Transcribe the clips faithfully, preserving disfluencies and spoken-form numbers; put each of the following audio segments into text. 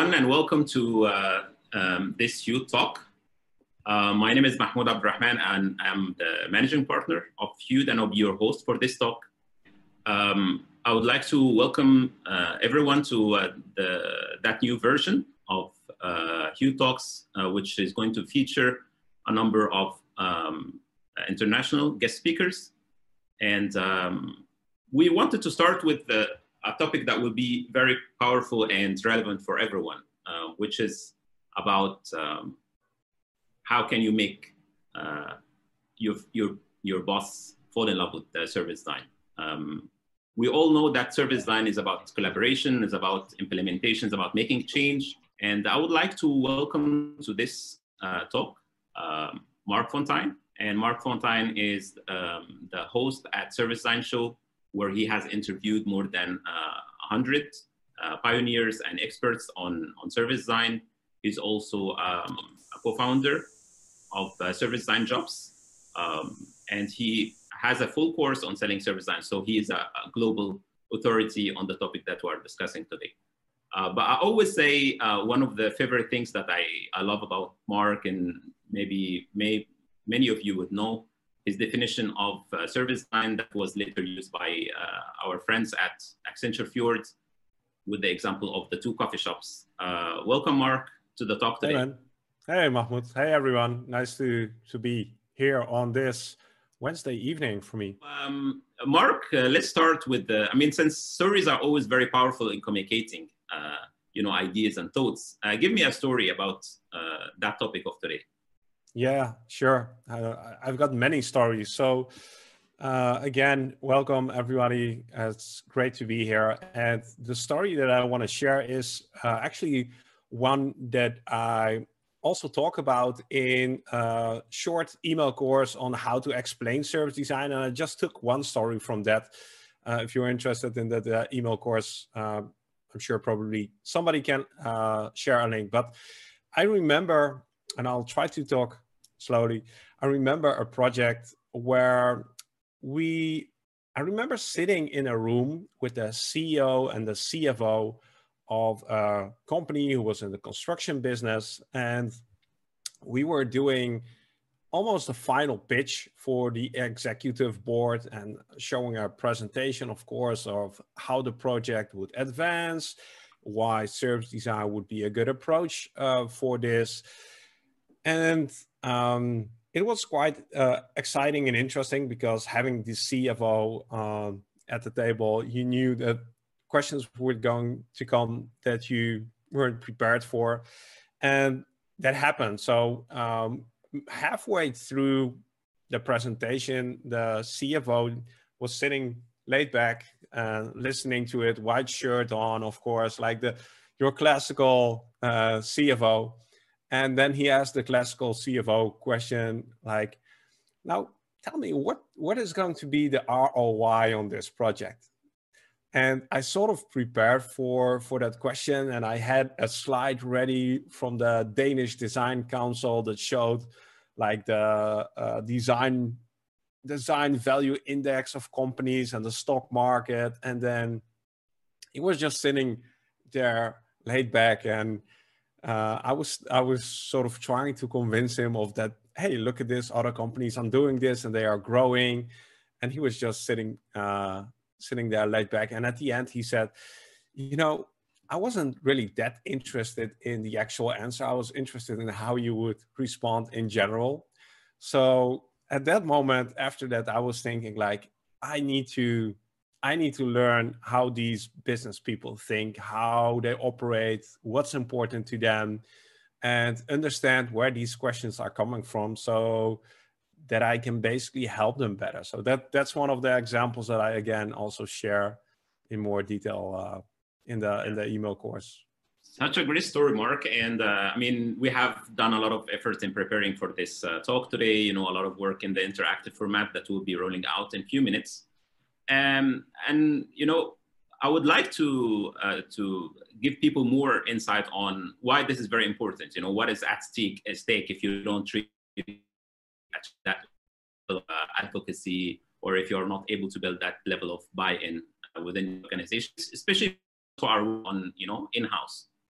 everyone, and welcome to uh, um, this youth talk. Uh, my name is Mahmoud Abdurrahman, and I'm the managing partner of Youth, and I'll be your host for this talk. Um, I would like to welcome uh, everyone to uh, the, that new version of uh, Youth Talks, uh, which is going to feature a number of um, international guest speakers. And um, we wanted to start with the a topic that will be very powerful and relevant for everyone, uh, which is about um, how can you make uh, your, your, your boss fall in love with the service design. Um, we all know that service design is about collaboration, is about implementation, is about making change. And I would like to welcome to this uh, talk, um, Mark Fontaine. And Mark Fontaine is um, the host at Service Design Show, where he has interviewed more than uh, one hundred uh, pioneers and experts on, on service design. He's also um, a co-founder of uh, Service Design Jobs. Um, and he has a full course on selling service design. So he is a, a global authority on the topic that we're discussing today. Uh, but I always say uh, one of the favorite things that I, I love about Mark, and maybe may, many of you would know, his definition of uh, service design that was later used by uh, our friends at Accenture Fjord with the example of the two coffee shops. Uh, welcome, Mark, to the talk today. Hey, man. Hey, Mahmoud. Hey, everyone. Nice to, to be here on this Wednesday evening for me. Um, Mark, uh, let's start with the, I mean, since stories are always very powerful in communicating, uh, you know, ideas and thoughts, uh, give me a story about uh, that topic of today. Yeah, sure. Uh, I've got many stories. So uh, again, welcome everybody. Uh, it's great to be here. And the story that I want to share is uh, actually one that I also talk about in a short email course on how to explain service design. And I just took one story from that. Uh, if you're interested in that uh, email course, uh, I'm sure probably somebody can uh, share a link. But I remember, and I'll try to talk slowly. I remember a project where we, I remember sitting in a room with the C E O and the C F O of a company who was in the construction business. And we were doing almost a final pitch for the executive board and showing a presentation, of course, of how the project would advance, why service design would be a good approach uh, for this. And um, it was quite uh, exciting and interesting because having the C F O um, at the table, you knew that questions were going to come that you weren't prepared for. And that happened. So um, halfway through the presentation, the C F O was sitting laid back and listening to it, white shirt on, of course, like the your classical uh, C F O. And then he asked the classical C F O question, like, now tell me what, what is going to be the R O I on this project? And I sort of prepared for, for that question. And I had a slide ready from the Danish Design Council that showed like the uh, design, design value index of companies and the stock market. And then he was just sitting there laid back, and Uh, I was I was sort of trying to convince him of that, hey, look at this, other companies are doing this and they are growing. And he was just sitting uh, sitting there laid back. And at the end, he said, you know, I wasn't really that interested in the actual answer. I was interested in how you would respond in general. So at that moment, after that, I was thinking like, I need to I need to learn how these business people think, how they operate, what's important to them, and understand where these questions are coming from so that I can basically help them better. So that, that's one of the examples that I, again, also share in more detail uh, in the in the email course. Such a great story, Mark. And uh, I mean, we have done a lot of effort in preparing for this uh, talk today, you know, a lot of work in the interactive format that will be rolling out in a few minutes. Um, and, you know, I would like to uh, to give people more insight on why this is very important. You know, what is at stake, at stake if you don't treat that uh, advocacy, or if you're not able to build that level of buy-in within organizations, especially to our on, you know, in-house.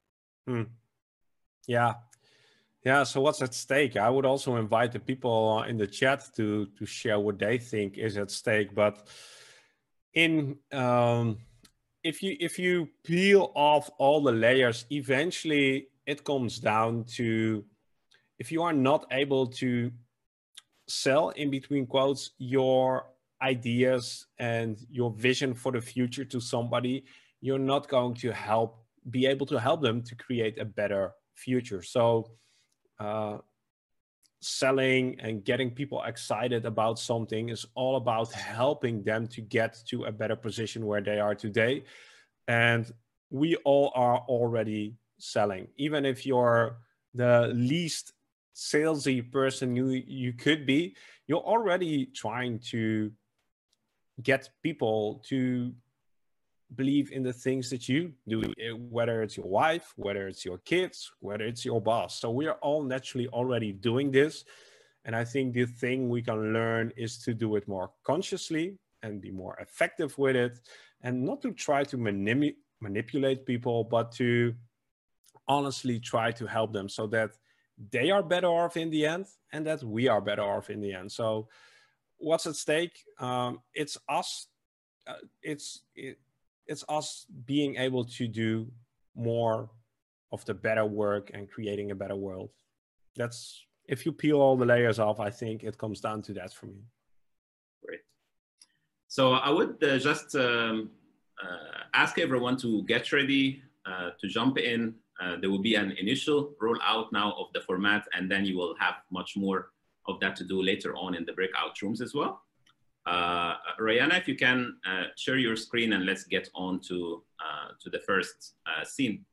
Hmm. Yeah. Yeah. So what's at stake? I would also invite the people in the chat to to share what they think is at stake. But in um, if you if you peel off all the layers, eventually it comes down to, if you are not able to sell, in between quotes, your ideas and your vision for the future to somebody, you're not going to help be able to help them to create a better future. So uh, selling and getting people excited about something is all about helping them to get to a better position where they are today. And we all are already selling. Even if you're the least salesy person you you could be, you're already trying to get people to believe in the things that you do, whether it's your wife, whether it's your kids, whether it's your boss. So we are all naturally already doing this. And I think the thing we can learn is to do it more consciously and be more effective with it, and not to try to manip- manipulate people, but to honestly try to help them so that they are better off in the end and that we are better off in the end. So what's at stake? Um, it's us. Uh, it's it, it's us being able to do more of the better work and creating a better world. That's, if you peel all the layers off, I think it comes down to that for me. Great. So I would uh, just um, uh, ask everyone to get ready uh, to jump in. Uh, there will be an initial rollout now of the format, and then you will have much more of that to do later on in the breakout rooms as well. Uh, Rayana, if you can uh, share your screen, and let's get on to, uh, to the first uh, scene.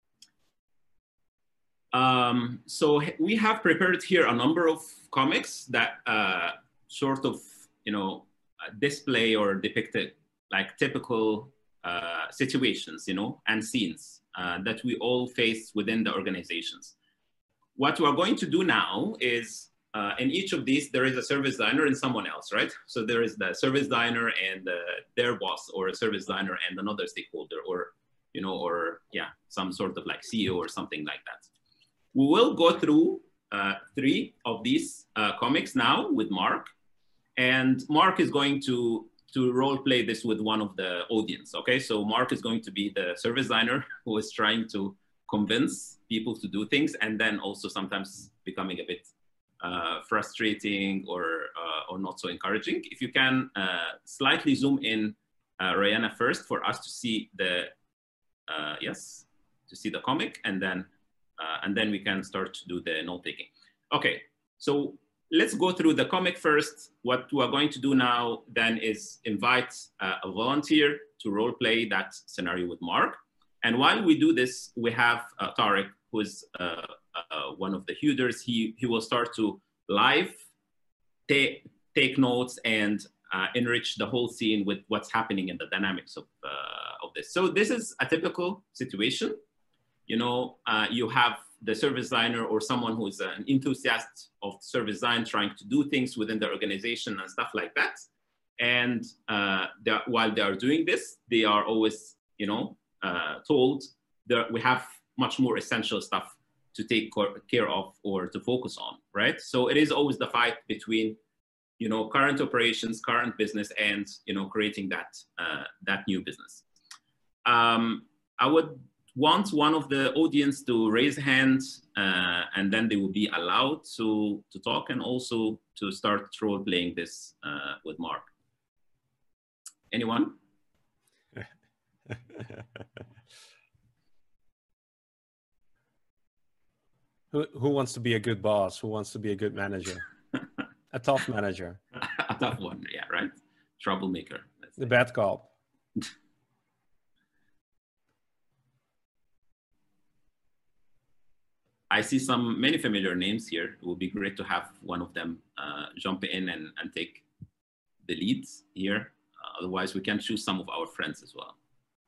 Um, so we have prepared here a number of comics that uh, sort of, you know, display or depict it like typical uh, situations, you know, and scenes uh, that we all face within the organizations. What we're going to do now is, uh, in each of these, there is a service designer and someone else, right? So there is the service designer and uh, their boss, or a service designer and another stakeholder, or, you know, or yeah, some sort of like C E O or something like that. We will go through uh, three of these uh, comics now with Mark, and Mark is going to, to role play this with one of the audience, okay? So Mark is going to be the service designer who is trying to convince people to do things, and then also sometimes becoming a bit uh, frustrating or, uh, or not so encouraging. If you can uh, slightly zoom in, uh, Rayana, first, for us to see the, uh, yes, to see the comic, and then, uh, and then we can start to do the note taking. Okay, so let's go through the comic first. What we're going to do now then is invite uh, a volunteer to role play that scenario with Mark. And while we do this, we have uh, Tarek, who is uh, uh, one of the Huders. He, he will start to live take, take notes and uh, enrich the whole scene with what's happening in the dynamics of, uh, of this. So this is a typical situation. You know, uh, you have the service designer or someone who is an enthusiast of service design trying to do things within the organization and stuff like that. And uh, while they are doing this, they are always, you know, uh, told that we have much more essential stuff to take care of or to focus on, right? So it is always the fight between, you know, current operations, current business, and, you know, creating that, uh, that new business. Um, I would want one of the audience to raise hands, uh, and then they will be allowed to, to talk and also to start role playing this uh, with Mark. Anyone? who, who wants to be a good boss? Who wants to be a good manager? A tough manager. A tough one, yeah, right? Troublemaker. The bad cop. I see some many familiar names here. It would be great to have one of them uh, jump in and, and take the leads here. Uh, otherwise, we can choose some of our friends as well.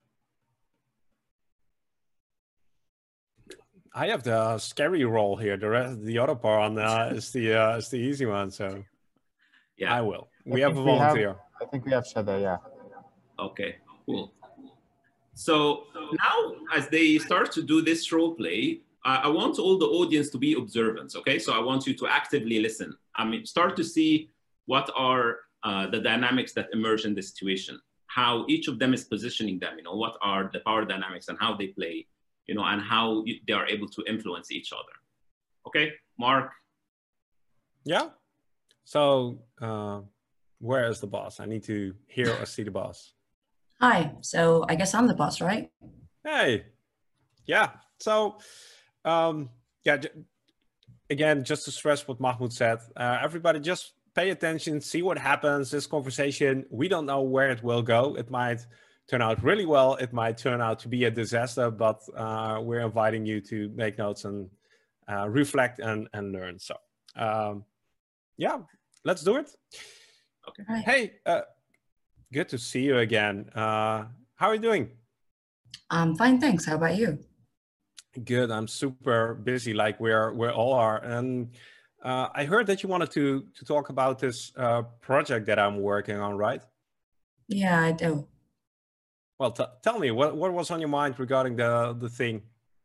I have the scary role here. The rest, the other part uh, is the uh, is the easy one. So yeah, I will. We I have a volunteer. We have, I think we have Shada. Yeah. Okay. Cool. So now, as they start to do this role play, I, I want all the audience to be observant. Okay, so I want you to actively listen. I mean, start to see what are uh, the dynamics that emerge in this situation, how each of them is positioning them. You know, what are the power dynamics and how they play. You know, and how they are able to influence each other. Okay, Mark. Yeah. So uh, where is the boss? I need to hear or see the boss. Hi. So I guess I'm the boss, right? Hey. Yeah. So um, yeah. Again, just to stress what Mahmoud said, uh, everybody just pay attention, see what happens. This conversation, we don't know where it will go. It might turn out really well. It might turn out to be a disaster, but uh, we're inviting you to make notes and uh, reflect and, and learn. So um, yeah, let's do it. Okay. Right. Hey, uh, good to see you again. Uh, how are you doing? I'm fine, thanks. How about you? Good. I'm super busy, like we're we all are. And uh, I heard that you wanted to to talk about this uh, project that I'm working on, right? Yeah, I do. Well, t tell me what what was on your mind regarding the the thing.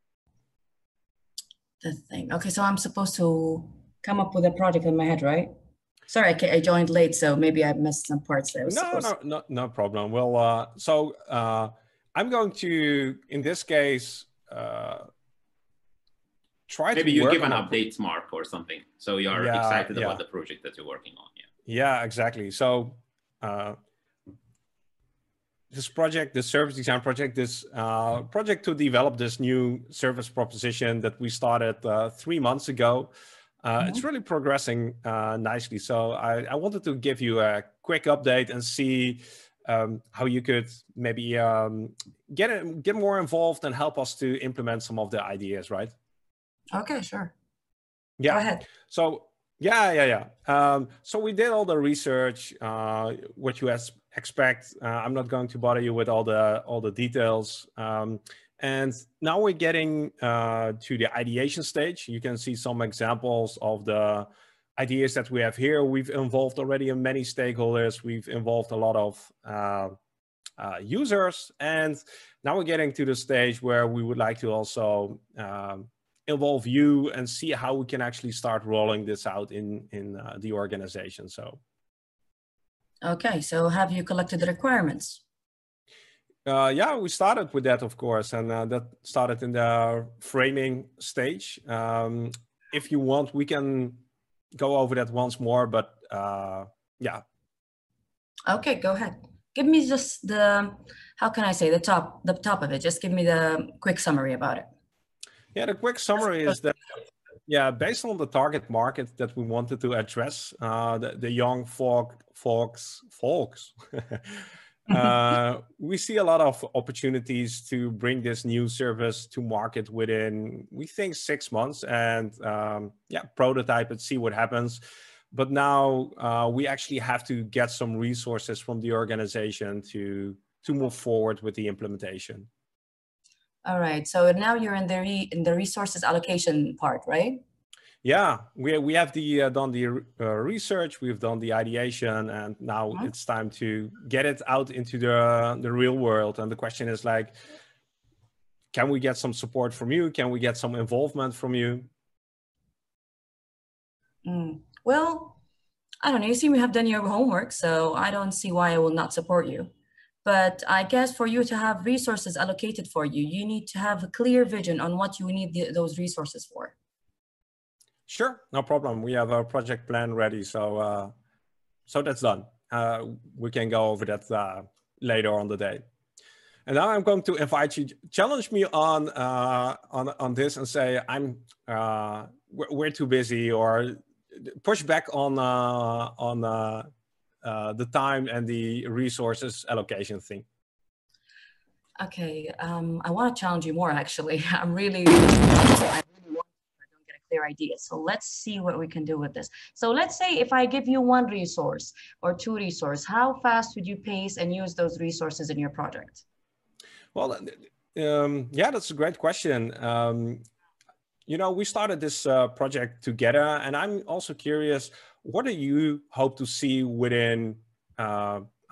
The thing. Okay, so I'm supposed to come up with a project in my head, right? Sorry, I, ca- I joined late, so maybe I missed some parts there. No, no, no, no problem. Well, uh, so uh, I'm going to, in this case, uh, try Maybe to you work give an on update, Mark, or something, so you're yeah, excited yeah. about the project that you're working on. Yeah. Yeah, exactly. So uh, this project, this service design project, this uh, project to develop this new service proposition that we started uh, three months ago. Uh, Mhm. It's really progressing uh, nicely. So I, I wanted to give you a quick update and see um, how you could maybe um, get it, get more involved and help us to implement some of the ideas, right? Okay, sure. Yeah. Go ahead. So yeah, yeah, yeah. Um, so we did all the research, uh, what you as expect. Uh, I'm not going to bother you with all the all the details. Um, and now we're getting uh, to the ideation stage. You can see some examples of the ideas that we have here. We've involved already in many stakeholders. We've involved a lot of uh, uh, users. And now we're getting to the stage where we would like to also um, involve you and see how we can actually start rolling this out in, in uh, the organization. So. Okay, so have you collected the requirements? Uh, yeah, we started with that, of course, and uh, that started in the framing stage. Um, if you want, we can go over that once more, but uh, yeah. Okay, go ahead. Give me just the, how can I say, the top, the top of it. Just give me the quick summary about it. Yeah, the quick summary is that, yeah, based on the target market that we wanted to address, uh, the, the young folk, folks, folks, uh, we see a lot of opportunities to bring this new service to market within, we think, six months and um, yeah, prototype it, see what happens. But now uh, we actually have to get some resources from the organization to, to move forward with the implementation. All right, so now you're in the, re in the resources allocation part, right? Yeah, we, we have the, uh, done the uh, research, we've done the ideation, and now mm-hmm. it's time to get it out into the, the real world. And the question is like, can we get some support from you? Can we get some involvement from you? Mm. Well, I don't know, you seem to have done your homework, so I don't see why I will not support you. But I guess for you to have resources allocated for you, you need to have a clear vision on what you need the, those resources for. Sure, no problem. We have our project plan ready, so uh, so that's done. Uh, we can go over that uh, later on the day. And now I'm going to invite you, challenge me on uh, on on this, and say I'm uh, we're, we're too busy, or push back on uh, on uh, uh, the time and the resources allocation thing. Okay, um, I want to challenge you more. Actually, I'm really. I clear idea. So let's see what we can do with this. So let's say if I give you one resource or two resources, how fast would you pace and use those resources in your project? Well, um, yeah, that's a great question. Um, you know, we started this uh, project together, and I'm also curious, what do you hope to see within uh,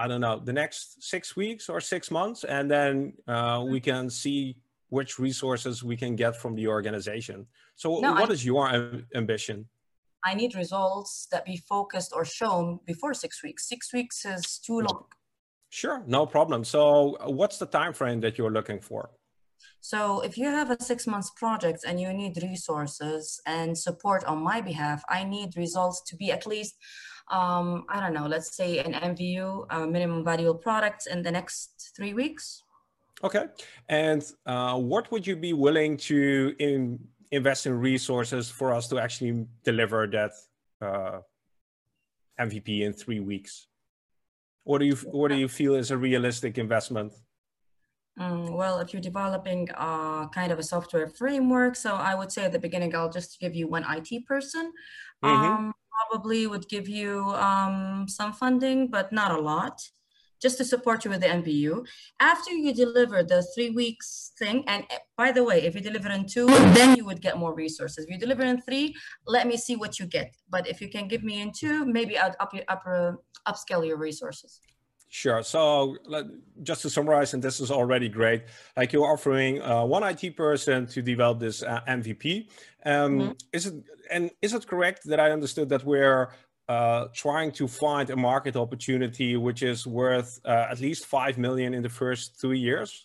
I don't know, the next six weeks or six months, and then uh, we can see which resources we can get from the organization. So No, what I, is your am- ambition? I need results that be focused or shown before six weeks. Six weeks is too long. Sure, no problem. So what's the time frame that you're looking for? So if you have a six months project and you need resources and support on my behalf, I need results to be at least, um, I don't know, let's say an M V U, uh, minimum valuable product, in the next three weeks. Okay. And uh, what would you be willing to in, invest in resources for us to actually deliver that uh, M V P in three weeks? What do you, what do you feel is a realistic investment? Mm, well, if you're developing a kind of a software framework, so I would say at the beginning, I'll just give you one I T person. Mm-hmm. Um, probably would give you um, some funding, but not a lot, just to support you with the M V U. After you deliver the three weeks thing, and by the way, if you deliver in two, then you would get more resources. If you deliver in three, let me see what you get. But if you can give me in two, maybe I'd up, up, uh, upscale your resources. Sure. So just to summarize, and this is already great, like you're offering uh, one I T person to develop this uh, M V P. Um, mm-hmm. Is it, and is it correct that I understood that we're uh, trying to find a market opportunity which is worth uh, at least five million in the first two years?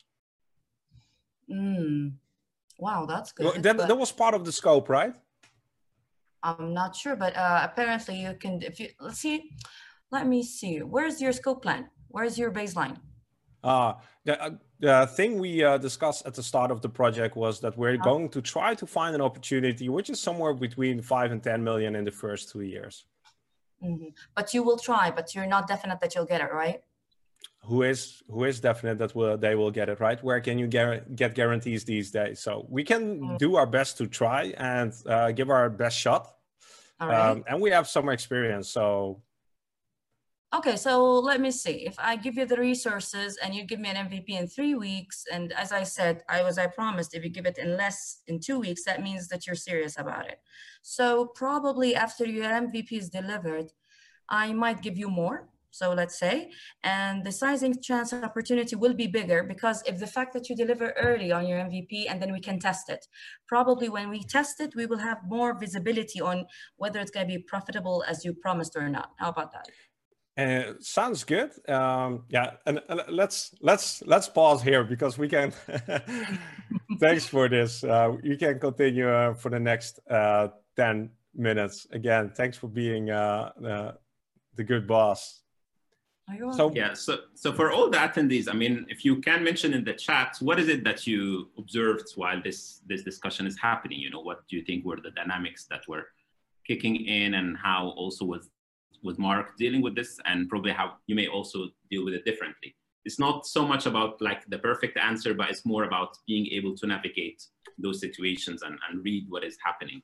Mm. Wow, that's good. Well, that, but... that was part of the scope, right? I'm not sure, but uh, apparently you can, if you, let's see, let me see, where's your scope plan? Where's your baseline? Uh, the, uh, the thing we uh, discussed at the start of the project was that we're uh-huh. going to try to find an opportunity which is somewhere between five and ten million in the first two years. Mm-hmm. But you will try, but you're not definite that you'll get it, right? Who is who is definite that will, they will get it, right? Where can you get, get guarantees these days? So we can mm-hmm. do our best to try and uh, give our best shot. All right. Um, and we have some experience, so. Okay, so let me see. If I give you the resources and you give me an M V P in three weeks, and as I said, I was I promised, if you give it in less in two weeks, that means that you're serious about it. So probably after your M V P is delivered, I might give you more. So let's say, and the sizing chance and opportunity will be bigger because if the fact that you deliver early on your M V P and then we can test it, probably when we test it, we will have more visibility on whether it's going to be profitable as you promised or not. How about that? Uh, sounds good. Um, yeah, and uh, let's let's let's pause here because we can. Thanks for this. Uh, you can continue uh, for the next uh, ten minutes. Again, thanks for being uh, uh, the good boss. So yeah, so so for all the attendees, I mean, if you can mention in the chat, what is it that you observed while this this discussion is happening? You know, what do you think were the dynamics that were kicking in, and how also was was Mark dealing with this, and probably how you may also deal with it differently. It's not so much about like the perfect answer, but it's more about being able to navigate those situations and, and read what is happening.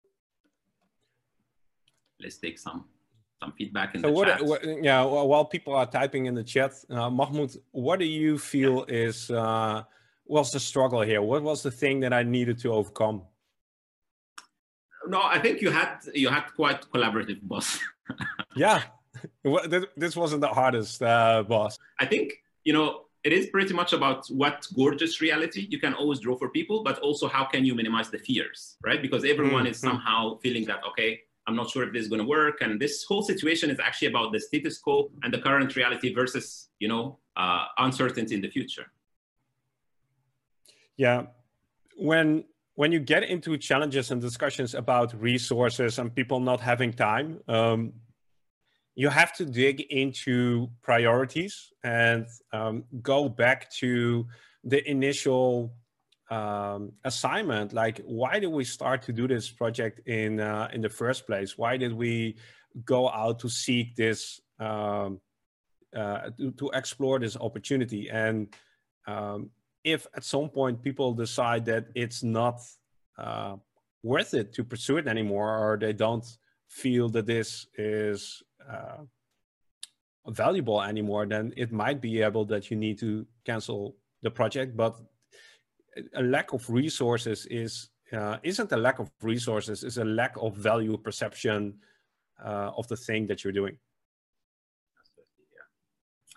Let's take some some feedback in so the what, chat. What, yeah, while people are typing in the chat, uh, Mahmoud, what do you feel yeah. is uh, was the struggle here? What was the thing that I needed to overcome? No, I think you had you had quite collaborative boss. Yeah, this wasn't the hardest, uh, boss. I think, you know, it is pretty much about what gorgeous reality you can always draw for people, but also how can you minimize the fears, right? Because everyone mm-hmm. is somehow feeling that, okay, I'm not sure if this is going to work. And this whole situation is actually about the status quo and the current reality versus, you know, uh, uncertainty in the future. Yeah. When when you get into challenges and discussions about resources and people not having time, um, you have to dig into priorities and um, go back to the initial um, assignment. Like, why did we start to do this project in uh, in the first place? Why did we go out to seek this, um, uh, to, to explore this opportunity? And um, if at some point people decide that it's not uh, worth it to pursue it anymore, or they don't feel that this is uh, valuable anymore, then it might be able that you need to cancel the project. But a lack of resources is uh, isn't a lack of resources, it's a lack of value perception uh, of the thing that you're doing.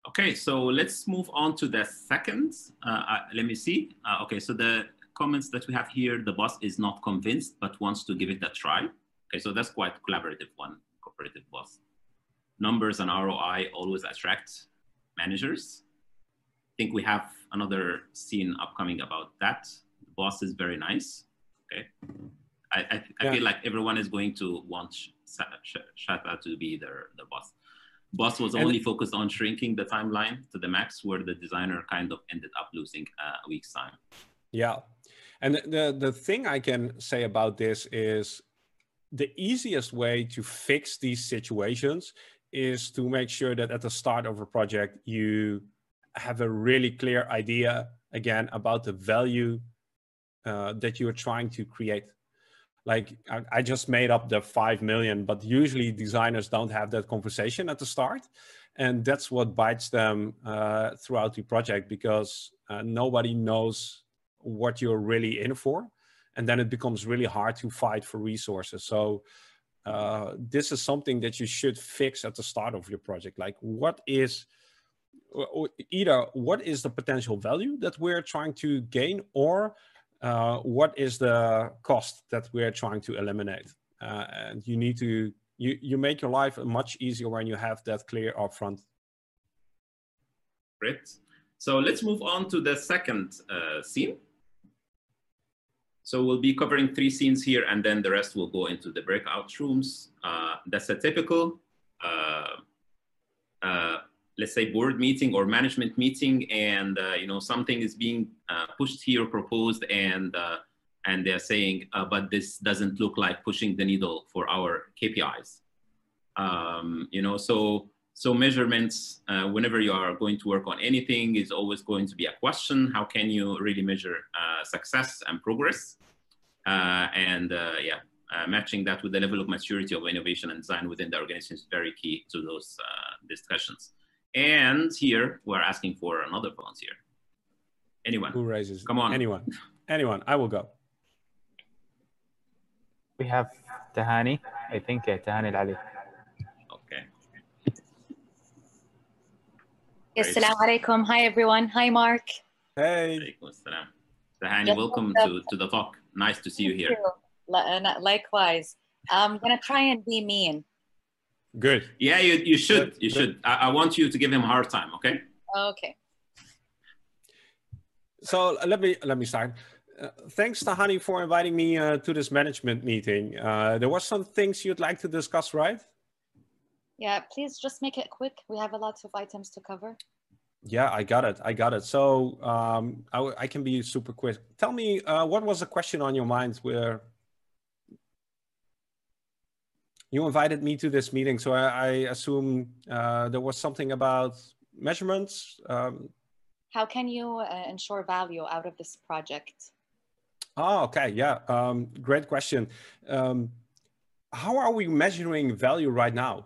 Okay, so let's move on to the second. Uh, uh, let me see. Uh, okay, so the comments that we have here, the boss is not convinced, but wants to give it a try. Okay, so that's quite collaborative one, cooperative boss. Numbers and R O I always attract managers. I think we have another scene upcoming about that. The boss is very nice. Okay, I, I, I yeah. feel like everyone is going to want Shata to be their, their boss. Boss was only focused on shrinking the timeline to the max, where the designer kind of ended up losing a week's time. Yeah, and the, the thing I can say about this is the easiest way to fix these situations is to make sure that at the start of a project, you have a really clear idea, again, about the value uh, that you are trying to create. Like I, I just made up the five million, but usually designers don't have that conversation at the start. And that's what bites them uh, throughout the project, because uh, nobody knows what you're really in for. And then it becomes really hard to fight for resources. So uh, this is something that you should fix at the start of your project. Like what is, either what is the potential value that we're trying to gain, or Uh, what is the cost that we're trying to eliminate? Uh, and you need to, you, you make your life much easier when you have that clear upfront. Great. So let's move on to the second uh, scene. So we'll be covering three scenes here, and then the rest will go into the breakout rooms. Uh, that's a typical, uh, uh, let's say, board meeting or management meeting, and uh, you know, something is being uh, pushed here, proposed, and uh, and they're saying, uh, but this doesn't look like pushing the needle for our K P Is. Um, you know, so so measurements, uh, whenever you are going to work on anything, is always going to be a question. How can you really measure uh, success and progress? Uh, and uh, yeah, uh, matching that with the level of maturity of innovation and design within the organization is very key to those uh, discussions. And here we're asking for another volunteer. Anyone? Who raises? Come on. Anyone. Anyone. I will go. We have Tahani. I think uh, Tahani Ali. Okay. Assalamu alaikum. Hi, everyone. Hi, Mark. Hey. Tahani, welcome to, to the talk. Nice to see you here. You. Likewise. I'm going to try and be mean. Good. Yeah, you, you should. Good. You should. I, I want you to give him a hard time, okay? Okay. So let me let me start. Uh, thanks, Tahani, for inviting me uh, to this management meeting. Uh, there were some things you'd like to discuss, right? Yeah, please just make it quick. We have a lot of items to cover. Yeah, I got it. I got it. So um, I, I can be super quick. Tell me, uh, what was the question on your mind where you invited me to this meeting? So I, I assume uh, there was something about measurements. Um, How can you uh, ensure value out of this project? Oh, okay. Yeah. Um, great question. Um, how are we measuring value right now?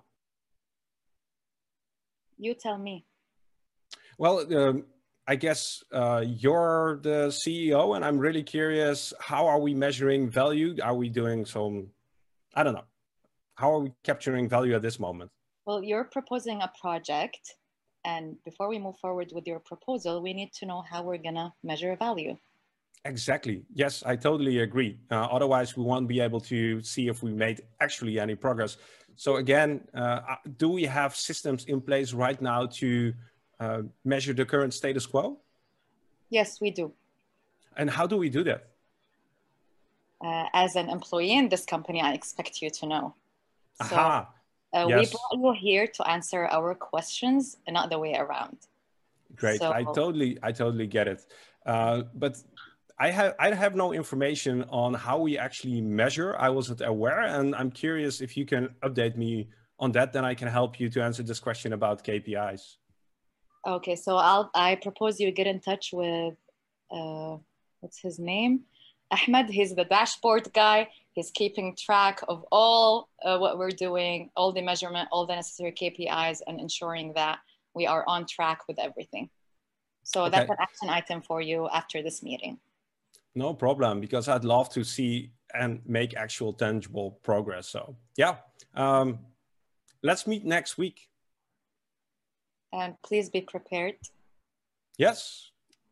You tell me. Well, um, I guess uh, you're the C E O, and I'm really curious, how are we measuring value? Are we doing some, I don't know, how are we capturing value at this moment? Well, you're proposing a project, and before we move forward with your proposal, we need to know how we're gonna measure value. Exactly. Yes, I totally agree. Uh, otherwise, we won't be able to see if we made actually any progress. So again, uh, do we have systems in place right now to uh, measure the current status quo? Yes, we do. And how do we do that? Uh, as an employee in this company, I expect you to know. So Aha. uh, Yes. we brought you here to answer our questions and not the way around. Great. So, I totally, I totally get it. Uh, but I have, I have no information on how we actually measure. I wasn't aware, and I'm curious if you can update me on that. Then I can help you to answer this question about K P Is. Okay, so I'll, I propose you get in touch with, uh, what's his name? Ahmed. He's the dashboard guy. He's keeping track of all uh, what we're doing, all the measurement, all the necessary K P Is, and ensuring that we are on track with everything. So Okay. that's an action item for you after this meeting. No problem, because I'd love to see and make actual tangible progress. So yeah, um, let's meet next week. and please be prepared. Yes.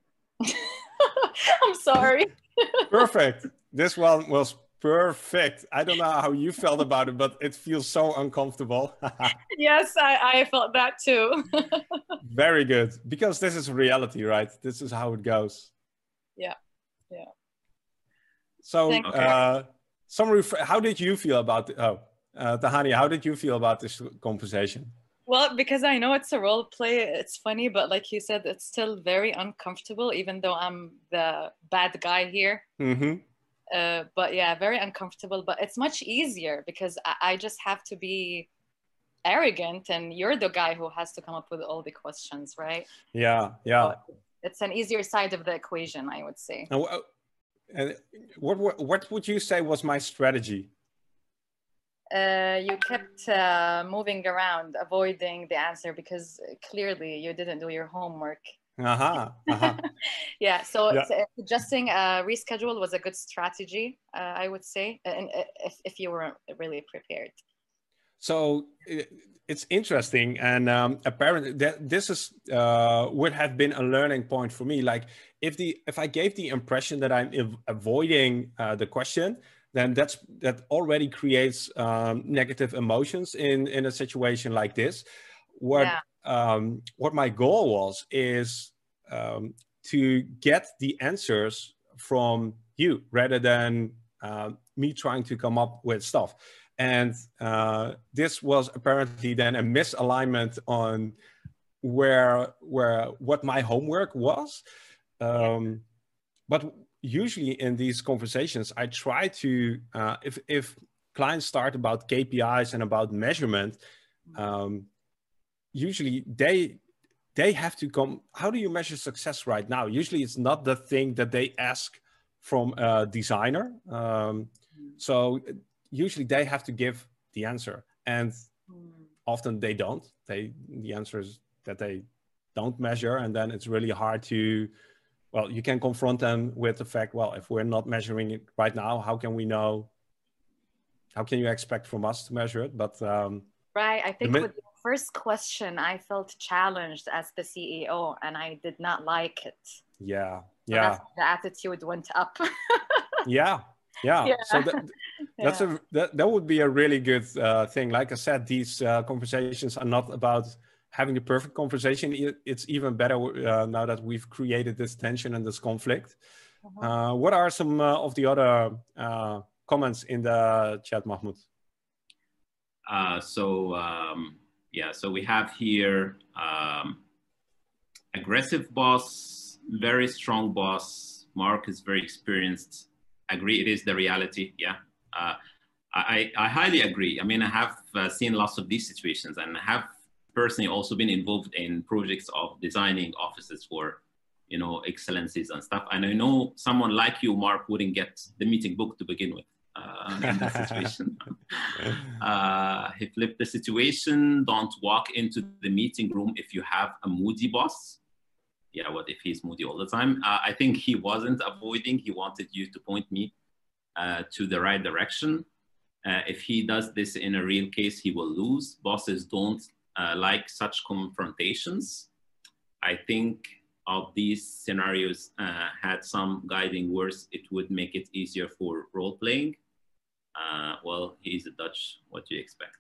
I'm sorry. Perfect. This one was perfect. I don't know how you felt about it, but it feels so uncomfortable. Yes, I, I felt that too. Very good. Because this is reality, right? This is how it goes. Yeah. Yeah. So, Thank you. uh, some ref- how did you feel about, the- oh, uh, Tahani, how did you feel about this conversation? Well, because I know it's a role play, it's funny, but like you said, it's still very uncomfortable, even though I'm the bad guy here. Mm-hmm. Uh, but yeah, very uncomfortable, but it's much easier because I, I just have to be arrogant and you're the guy who has to come up with all the questions, right? Yeah, yeah. So it's an easier side of the equation, I would say. And, uh, and what, what, what would you say was my strategy? Uh, you kept uh, moving around, avoiding the answer because clearly you didn't do your homework. Uh-huh, uh-huh. Yeah, so Yeah. suggesting a reschedule was a good strategy, uh, I would say, and if, if you were really prepared. So it's interesting, and um, apparently that this is uh, would have been a learning point for me. Like if the if I gave the impression that I'm ev- avoiding uh, the question, then that's that already creates um, negative emotions in in a situation like this. What Yeah. um, what my goal was is um, to get the answers from you rather than uh, me trying to come up with stuff. And uh, this was apparently then a misalignment on where where what my homework was. Um, yeah. But usually in these conversations, I try to, uh, if, if clients start about K P Is and about measurement, um, usually they, they have to come, how do you measure success right now? Usually it's not the thing that they ask from a designer. Um, so usually they have to give the answer, and often they don't. They, the answer is that they don't measure, and then it's really hard to, well, you can confront them with the fact, well, if we're not measuring it right now, how can we know, how can you expect from us to measure it? But um, right, I think with the first question, I felt challenged as the C E O, and I did not like it. Yeah, so yeah. That's, the attitude went up. yeah. Yeah. yeah, so that, that's yeah. a that, that would be a really good uh, thing. Like I said, these uh, conversations are not about having the perfect conversation. It's even better uh, now that we've created this tension and this conflict. Uh-huh. Uh, what are some uh, of the other uh, comments in the chat, Mahmoud? Uh, so um, yeah, so we have here um, aggressive boss, very strong boss. Mark is very experienced. Agree, it is the reality. Yeah, uh, I, I highly agree. I mean, I have uh, seen lots of these situations, and I have personally also been involved in projects of designing offices for, you know, excellencies and stuff. And I know someone like you, Mark, wouldn't get the meeting booked to begin with uh, in that situation. uh, he flipped the situation. Don't walk into the meeting room if you have a moody boss. Yeah, what if he's moody all the time? Uh, I think he wasn't avoiding. He wanted you to point me uh, to the right direction. Uh, if he does this in a real case, he will lose. Bosses don't uh, like such confrontations. I think of these scenarios uh, had some guiding words, it would make it easier for role playing. Uh, well, he's a Dutch. What do you expect?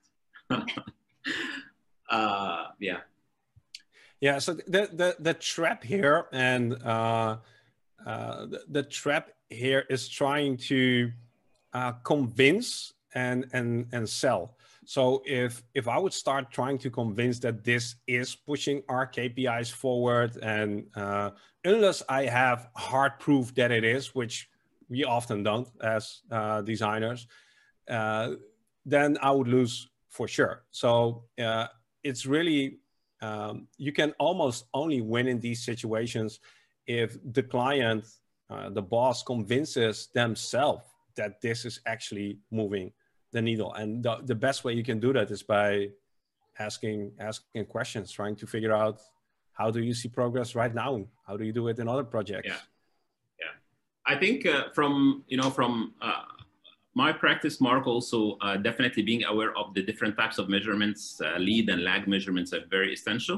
uh, yeah. Yeah, so the, the, the trap here and uh, uh, the, the trap here is trying to uh, convince and, and, and sell. So if, if I would start trying to convince that this is pushing our K P Is forward, and uh, unless I have hard proof that it is, which we often don't as uh, designers, uh, then I would lose for sure. So uh, it's really, Um, you can almost only win in these situations if the client, uh, the boss, convinces themselves that this is actually moving the needle. And the, the best way you can do that is by asking asking questions, trying to figure out, how do you see progress right now? How do you do it in other projects? Yeah, yeah. I think uh, from you know from. Uh, My practice, Mark, also uh, definitely being aware of the different types of measurements, uh, lead and lag measurements are very essential.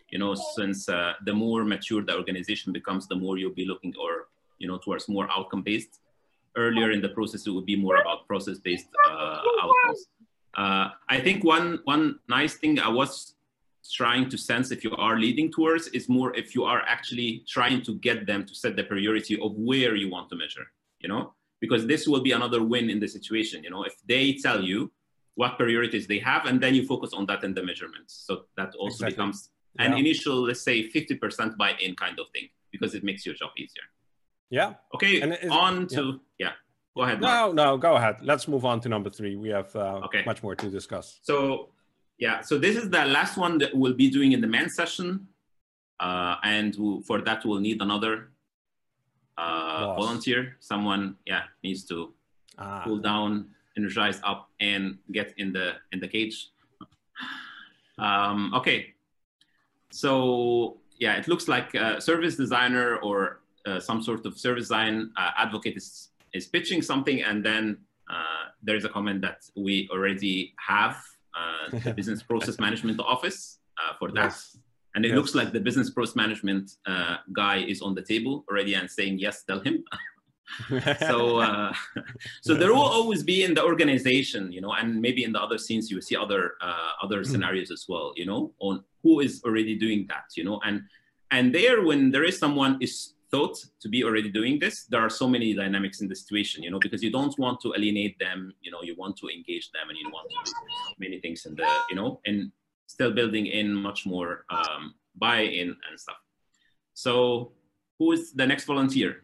You know, since uh, the more mature the organization becomes, the more you'll be looking or, you know, towards more outcome-based. Earlier in the process, it would be more about process-based uh, outcomes. Uh, I think one, one nice thing I was trying to sense if you are leading towards is more if you are actually trying to get them to set the priority of where you want to measure, you know, because this will be another win in the situation. You know, if they tell you what priorities they have, and then you focus on that in the measurements. So that also Exactly. becomes Yeah. an initial, let's say fifty percent buy-in kind of thing, because it makes your job easier. Yeah. Okay, And is- on to, yeah. yeah, go ahead, Mark. No, no, go ahead. Let's move on to number three. We have uh, Okay. much more to discuss. So, yeah, so this is the last one that we'll be doing in the main session. Uh, and we'll, for that, we'll need another uh, volunteer. Someone, yeah, needs to ah. cool down, energize up, and get in the, in the cage. Um, okay. So yeah, it looks like a service designer or uh, some sort of service design uh, advocate is, is pitching something, and then uh, there is a comment that we already have uh, the business process management office uh, for that. Yes. And it Yes. looks like the business process management uh, guy is on the table already and saying, yes, tell him. so uh, so there will always be in the organization, you know, and maybe in the other scenes, you see other uh, other scenarios as well, you know, on who is already doing that, you know, and and there, when there is someone is thought to be already doing this, there are so many dynamics in the situation, you know, because you don't want to alienate them, you know, you want to engage them, and you want to do many things in the, you know, and still building in much more um, buy-in and stuff. So who is the next volunteer?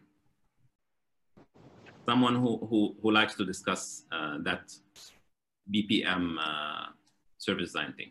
Someone who, who, who likes to discuss uh, that B P M uh, service design thing.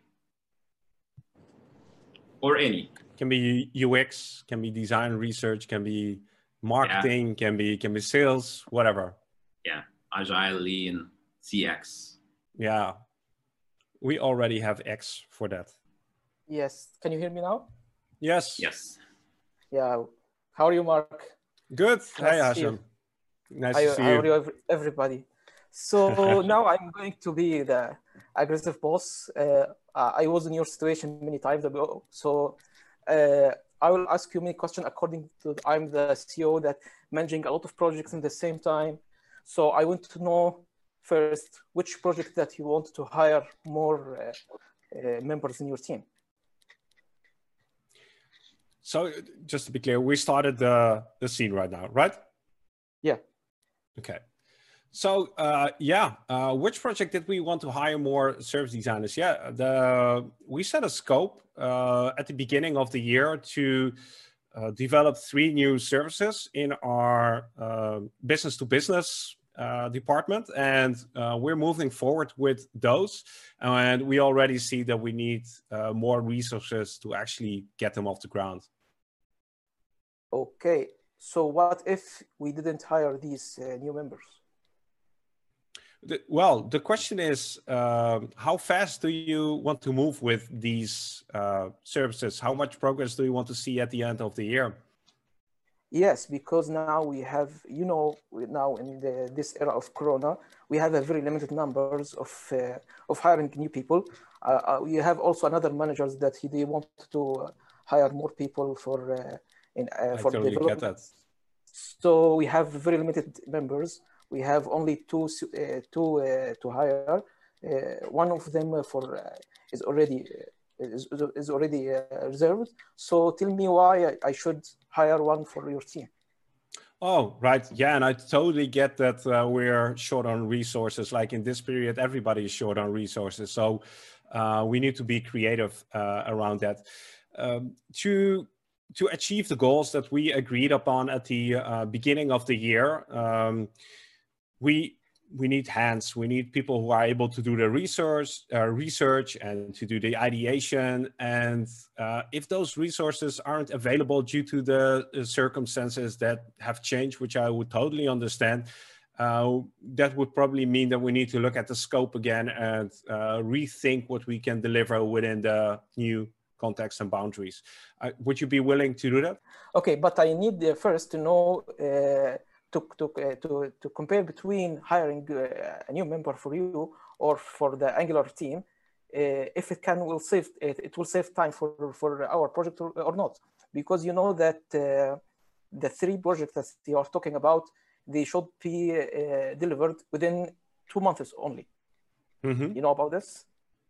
Or any. Can be U X, can be design research, can be marketing, yeah. can be can be sales, whatever. Yeah, agile, lean, C X. Yeah, we already have X for that. Yes, can you hear me now? Yes. Yes. Yeah, how are you, Mark? Good. Nice hey, Hashem. Nice I, to see how you. are you, everybody? So now I'm going to be the aggressive boss. Uh, I was in your situation many times ago. So uh, I will ask you many questions according to, I'm the C E O that managing a lot of projects in the same time. So I want to know first, which project that you want to hire more uh, uh, members in your team? So just to be clear, we started the, the scene right now, right? Yeah. Okay. So uh, yeah, uh, which project did we want to hire more service designers? Yeah, the we set a scope uh, at the beginning of the year to uh, develop three new services in our uh, business to business uh, department, and uh, we're moving forward with those. And we already see that we need uh, more resources to actually get them off the ground. Okay. So what if we didn't hire these uh, new members? The, well, the question is, um, how fast do you want to move with these uh, services? How much progress do you want to see at the end of the year? Yes, because now we have, you know, now in the, this era of Corona, we have a very limited numbers of uh, of hiring new people. Uh, uh, we have also another managers that he they want to hire more people for uh, in uh, for totally development. Get that. So we have very limited members. We have only two uh, two uh, to hire. Uh, one of them for uh, is already uh, is, is already uh, reserved. So tell me why I, I should hire one for your team. Oh, right. Yeah, and I totally get that uh, we're short on resources. Like in this period, everybody is short on resources. So uh, we need to be creative uh, around that. Um, to to achieve the goals that we agreed upon at the uh, beginning of the year, um, we we need hands. We need people who are able to do the research, uh, research and to do the ideation. And uh, if those resources aren't available due to the uh, circumstances that have changed, which I would totally understand, uh, that would probably mean that we need to look at the scope again and uh, rethink what we can deliver within the new context and boundaries. Uh, would you be willing to do that? Okay, but I need uh, first to know uh, to to, uh, to to compare between hiring uh, a new member for you or for the Angular team. uh, if it can will save it, it will save time for for our project or, or not, because you know that uh, the three projects that you are talking about, they should be uh, delivered within two months only. Mm-hmm. You know about this?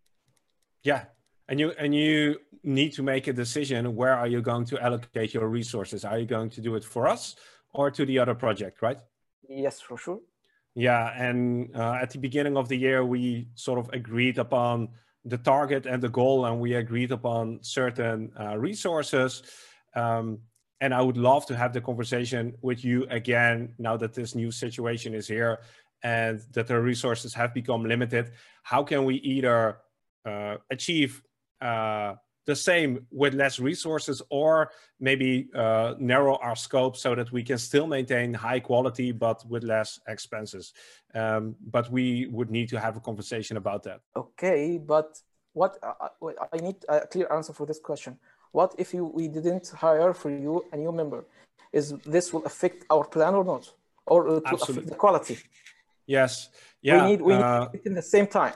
Yeah, and you and you need to make a decision. Where are you going to allocate your resources? Are you going to do it for us or to the other project, right? Yes, for sure. Yeah, and uh, at the beginning of the year, we sort of agreed upon the target and the goal, and we agreed upon certain uh, resources. Um, and I would love to have the conversation with you again now that this new situation is here and that the resources have become limited. How can we either uh, achieve uh, the same with less resources, or maybe uh, narrow our scope so that we can still maintain high quality but with less expenses? Um, but we would need to have a conversation about that. Okay, but what uh, I need a clear answer for this question. What if you, we didn't hire for you a new member? Is this will affect our plan or not? Or it will Absolutely. affect the quality? Yes. Yeah. We need, we need uh, it in the same time.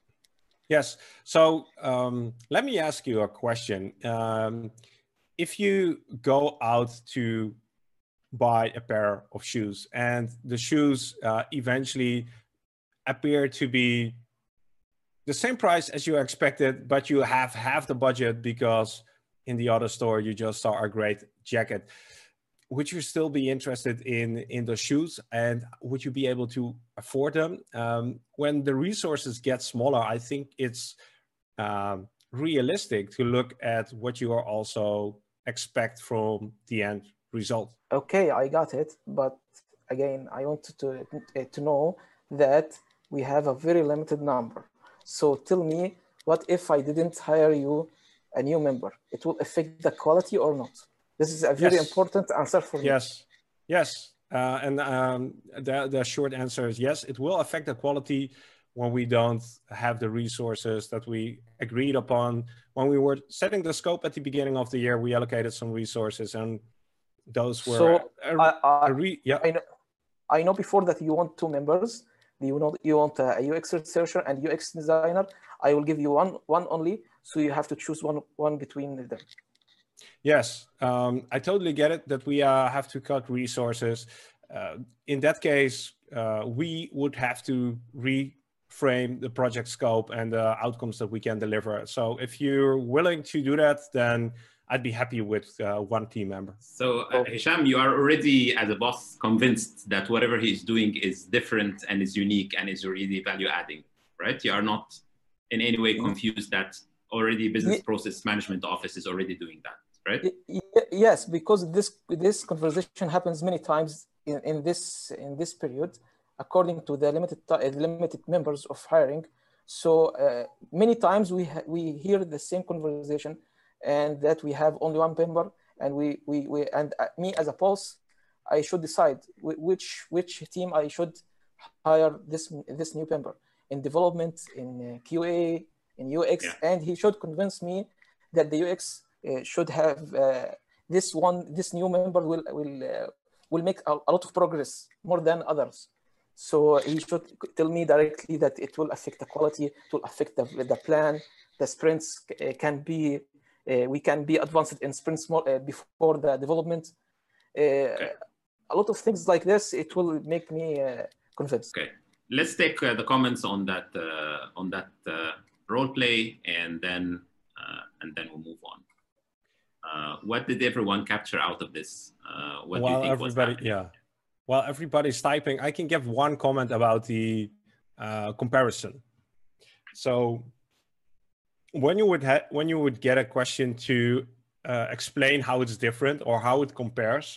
Yes. So um, let me ask you a question. Um, if you go out to buy a pair of shoes and the shoes uh, eventually appear to be the same price as you expected, but you have half the budget because in the other store you just saw a great jacket, would you still be interested in in the shoes, and would you be able to afford them? Um, when the resources get smaller, I think it's um, realistic to look at what you are also expect from the end result. Okay, I got it. But again, I want to, to know that we have a very limited number. So tell me, what if I didn't hire you a new member? It will affect the quality or not? This is a very Yes. important answer for me. Yes, yes. Uh, and um, the, the short answer is yes, it will affect the quality when we don't have the resources that we agreed upon. When we were setting the scope at the beginning of the year, we allocated some resources, and those were So a, I, I, a re, yeah. I know, I know before that you want two members. You know, you want a U X researcher and U X designer. I will give you one, one only. So you have to choose one, one between them. Yes, um, I totally get it that we uh, have to cut resources. Uh, in that case, uh, we would have to reframe the project scope and the outcomes that we can deliver. So if you're willing to do that, then I'd be happy with uh, one team member. So uh, Hisham, you are already, as a boss, convinced that whatever he's doing is different and is unique and is really value adding, right? You are not in any way confused that already business process management office is already doing that. Right? Yes, because this this conversation happens many times in, in this in this period, according to the limited limited members of hiring. So uh, many times we we hear the same conversation, and that we have only one member, and we we, we and me as a boss, I should decide which which team I should hire this this new member in development, in Q A, in U X, yeah. And he should convince me that the U X Uh, should have uh, this one, this new member will will uh, will make a, a lot of progress more than others. So he should tell me directly that it will affect the quality, it will affect the, the plan. The sprints can be uh, we can be advanced in sprints more, uh, before the development. Uh, okay. A lot of things like this, it will make me uh, convinced. Okay, let's take uh, the comments on that uh, on that uh, role play, and then uh, and then we'll move on. Uh, what did everyone capture out of this? Uh, what While do you think everybody, was happening? Yeah, while everybody's typing, I can give one comment about the uh, comparison. So when you would ha- when you would get a question to uh, explain how it's different or how it compares,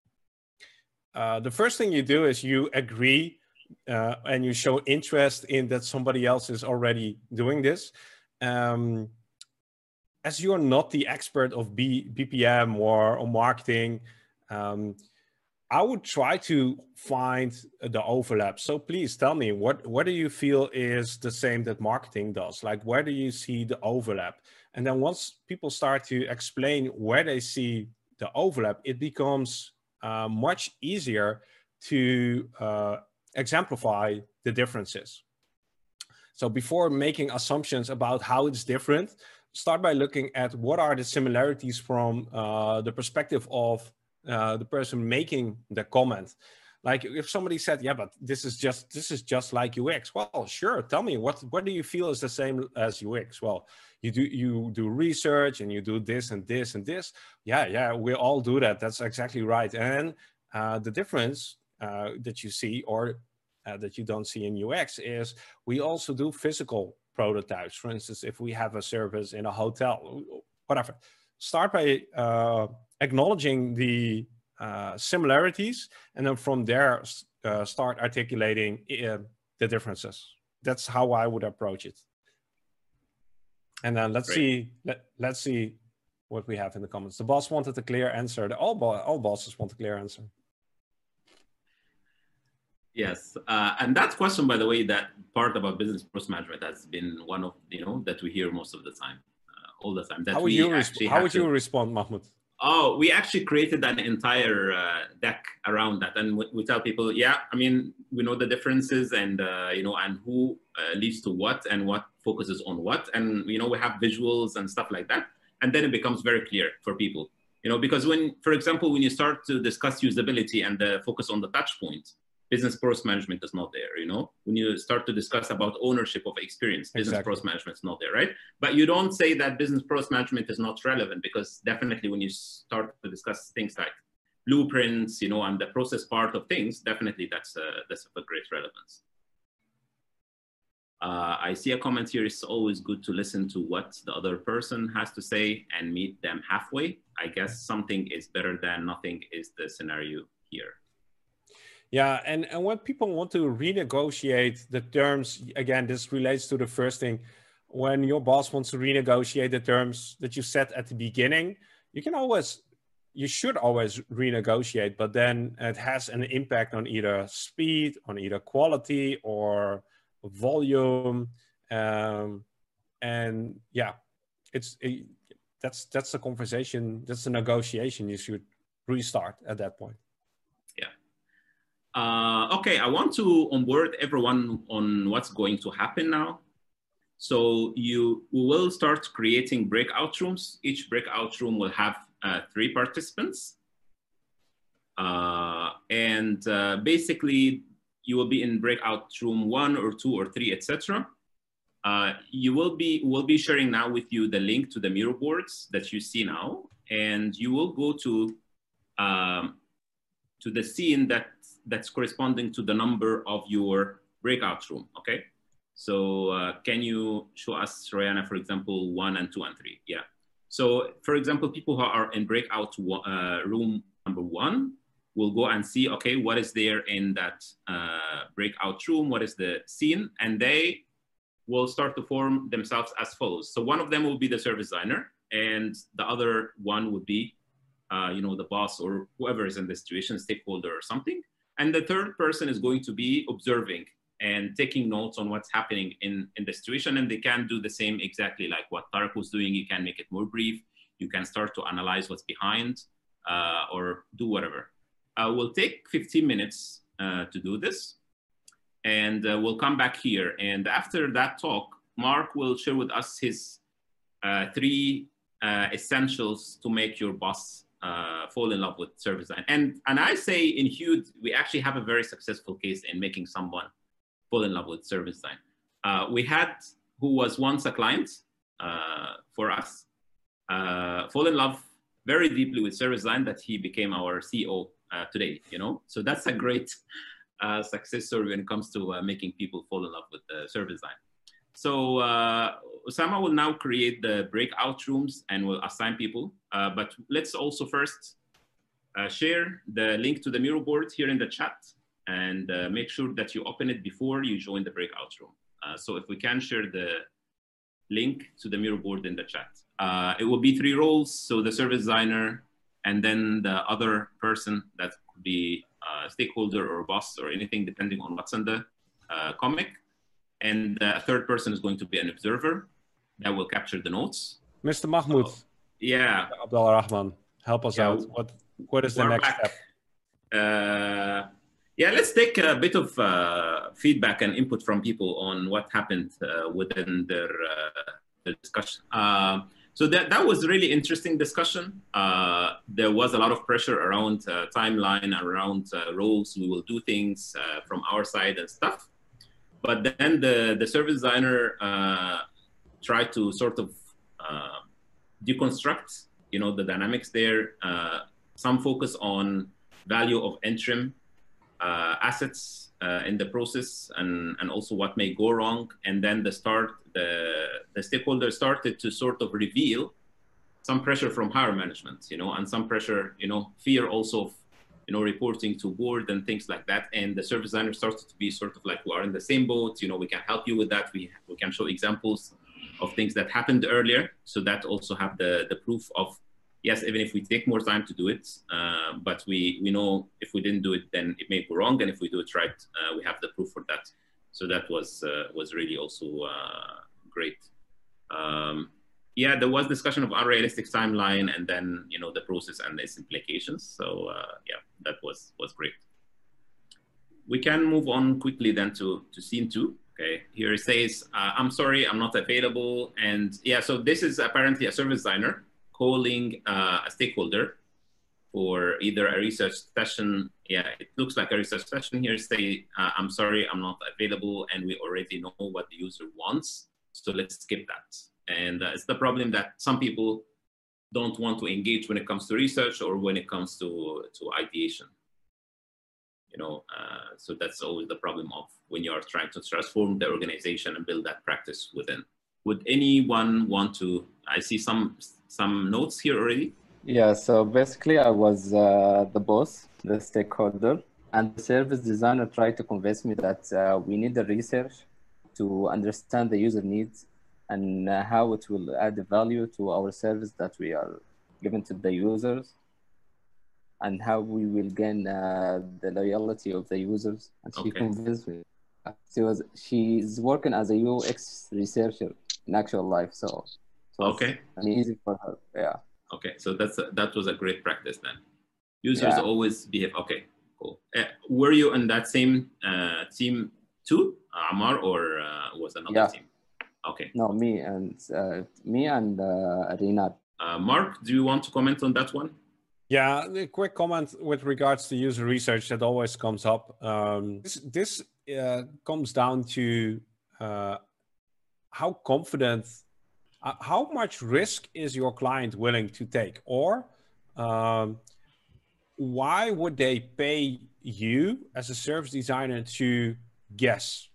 uh, the first thing you do is you agree uh, and you show interest in that somebody else is already doing this. Um, As you're not the expert of B, B P M or, or marketing, um, I would try to find the overlap. So please tell me, what, what do you feel is the same that marketing does? Like, where do you see the overlap? And then once people start to explain where they see the overlap, it becomes uh, much easier to uh, exemplify the differences. So before making assumptions about how it's different, start by looking at what are the similarities from uh, the perspective of uh, the person making the comment. Like if somebody said, yeah, but this is just this is just like U X. Well, sure. Tell me what what do you feel is the same as U X? Well, you do you do research and you do this and this and this. Yeah, yeah, we all do that. That's exactly right. And uh, the difference uh, that you see or uh, that you don't see in U X is we also do physical prototypes. For instance, if we have a service in a hotel, whatever. Start by uh, acknowledging the Uh, similarities, and then from there uh, start articulating uh, the differences. That's how I would approach it. And then let's Great. see let, let's see what we have in the comments. The boss wanted a clear answer. The, all, bo all bosses want a clear answer. Yes, uh, and that question, by the way, that part about business process management has been one of, you know, that we hear most of the time, uh, all the time. That how would we you, actually how would to... you respond, Mahmoud? Oh, we actually created an entire uh, deck around that, and we, we tell people, yeah, I mean, we know the differences, and uh, you know, and who uh, leads to what, and what focuses on what, and you know, we have visuals and stuff like that, and then it becomes very clear for people, you know, because when, for example, when you start to discuss usability and the focus on the touch point, business process management is not there, you know. When you start to discuss about ownership of experience, business exactly. process management is not there, right? But you don't say that business process management is not relevant, because definitely when you start to discuss things like blueprints, you know, and the process part of things, definitely that's, uh, that's of a great relevance. Uh, I see a comment here, it's always good to listen to what the other person has to say and meet them halfway. I guess something is better than nothing is the scenario here. Yeah, and, and when people want to renegotiate the terms, again, this relates to the first thing. When your boss wants to renegotiate the terms that you set at the beginning, you can always, you should always renegotiate, but then it has an impact on either speed, on either quality or volume. Um, and yeah, it's it, that's, that's a conversation, that's a negotiation you should restart at that point. Uh, okay, I want to onboard everyone on what's going to happen now. So you we will start creating breakout rooms. Each breakout room will have uh, three participants. Uh, and uh, basically, you will be in breakout room one or two or three, et cetera. Uh, you will be, we'll be sharing now with you the link to the Miro boards that you see now. And you will go to, um, to the scene that that's corresponding to the number of your breakout room, okay? So uh, can you show us, Royana, for example, one and two and three? Yeah. So for example, people who are in breakout uh, room number one will go and see, okay, what is there in that uh, breakout room? What is the scene? And they will start to form themselves as follows. So one of them will be the service designer, and the other one would be, uh, you know, the boss or whoever is in the situation, stakeholder or something. And the third person is going to be observing and taking notes on what's happening in, in the situation. And they can do the same exactly like what Tarek was doing. You can make it more brief. You can start to analyze what's behind uh, or do whatever. Uh, we'll take fifteen minutes uh, to do this. And uh, we'll come back here. And after that talk, Mark will share with us his uh, three uh, essentials to make your boss Uh, fall in love with service design. And, and I say in Hude, we actually have a very successful case in making someone fall in love with service design. Uh, we had, who was once a client uh, for us, uh, fall in love very deeply with service design that he became our C E O uh, today, you know? So that's a great uh, success story when it comes to uh, making people fall in love with uh, service design. So uh, Osama will now create the breakout rooms and will assign people. Uh, but let's also first uh, share the link to the Miro board here in the chat, and uh, make sure that you open it before you join the breakout room. Uh, so if we can share the link to the Miro board in the chat. Uh, it will be three roles. So the service designer, and then the other person that could be a stakeholder or a boss or anything, depending on what's in the uh, comic. And a third person is going to be an observer that will capture the notes. Mister Mahmoud. So, yeah. Abdullah Rahman, help us yeah, out. What, what is the next back. step? Uh, Yeah, let's take a bit of uh, feedback and input from people on what happened uh, within their, uh, their discussion. Uh, so that, that was a really interesting discussion. Uh, there was a lot of pressure around uh, timeline, around uh, roles. We will do things uh, from our side and stuff. But then the, the service designer uh, tried to sort of uh, deconstruct, you know, the dynamics there. Uh, some focus on value of interim uh, assets uh, in the process, and, and also what may go wrong. And then the start, the, the stakeholders started to sort of reveal some pressure from higher management, you know, and some pressure, you know, fear also of, you know, reporting to board and things like that. And the service designer started to be sort of like, we are in the same boat, you know, we can help you with that. We, we can show examples of things that happened earlier. So that also have the, the proof of, yes, even if we take more time to do it, uh, but we, we know if we didn't do it, then it may go wrong. And if we do it right, uh, we have the proof for that. So that was, uh, was really also uh, great. Um, yeah, there was discussion of unrealistic timeline and then, you know, the process and its implications. So uh, yeah, that was, was great. We can move on quickly then to, to scene two. Okay, here it says, uh, I'm sorry, I'm not available. And yeah, so this is apparently a service designer calling uh, a stakeholder for either a research session. Yeah, it looks like a research session here. Say, uh, I'm sorry, I'm not available. And we already know what the user wants. So let's skip that. And uh, it's the problem that some people don't want to engage when it comes to research or when it comes to, to ideation. You know, uh, so that's always the problem of when you are trying to transform the organization and build that practice within. Would anyone want to, I see some, some notes here already. Yeah, so basically I was uh, the boss, the stakeholder, and the service designer tried to convince me that uh, we need the research to understand the user needs and uh, how it will add value to our service that we are giving to the users, and how we will gain uh, the loyalty of the users. And she Okay. convinced me. She was, she's working as a U X researcher in actual life, so it was Okay. easy for her. Yeah. Okay, so that's a, that was a great practice then. Users Yeah. always behave. Okay, cool. Uh, were you in that same uh, team too, Amar, or uh, was another Yeah. team? Okay. No, me and uh, me and uh, Rinat. Uh, Mark, do you want to comment on that one? Yeah, a quick comment with regards to user research that always comes up. Um, this this uh, comes down to uh, how confident, uh, how much risk is your client willing to take, or um, why would they pay you as a service designer to guess?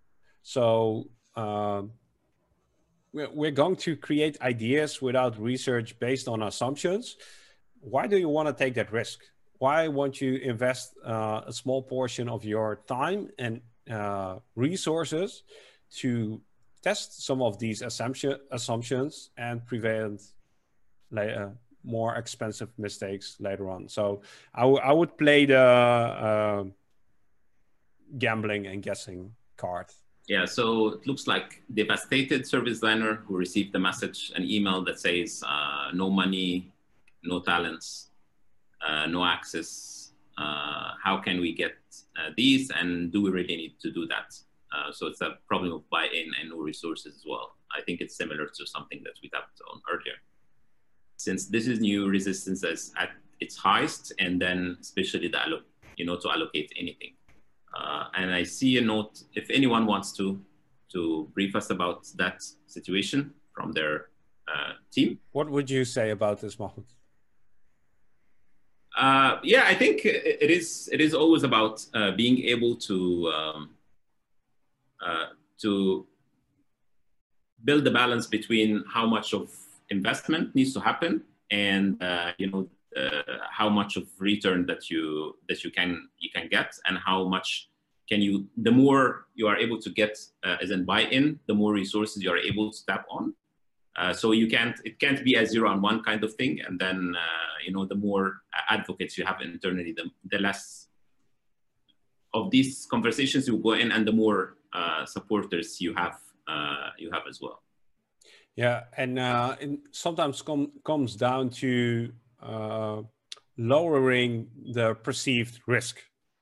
So um, we're, we're going to create ideas without research based on assumptions. Why do you want to take that risk? Why won't you invest uh, a small portion of your time and uh, resources to test some of these assumption, assumptions and prevent uh, more expensive mistakes later on? So I, I would play the uh, gambling and guessing card. Yeah, so it looks like devastated service designer who received the message, an email that says uh, no money, no talents, uh, no access. Uh, how can we get uh, these, and do we really need to do that? Uh, so it's a problem of buy-in and no resources as well. I think it's similar to something that we tapped on earlier. Since this is new, resistance is at its highest, and then especially the allo you know to allocate anything. Uh, and I see a note, if anyone wants to, to brief us about that situation from their uh, team. What would you say about this, Mahmoud? Uh, yeah, I think it is, it is always about uh, being able to, um, uh, to build the balance between how much of investment needs to happen and, uh, you know, Uh, how much of return that you that you can you can get, and how much can you, the more you are able to get uh, as in buy-in, the more resources you are able to tap on. Uh, so you can't, it can't be a zero on one kind of thing. And then uh, you know, the more advocates you have internally, the, the less of these conversations you go in, and the more uh, supporters you have uh, you have as well. Yeah, and uh, it sometimes com comes down to Uh, lowering the perceived risk.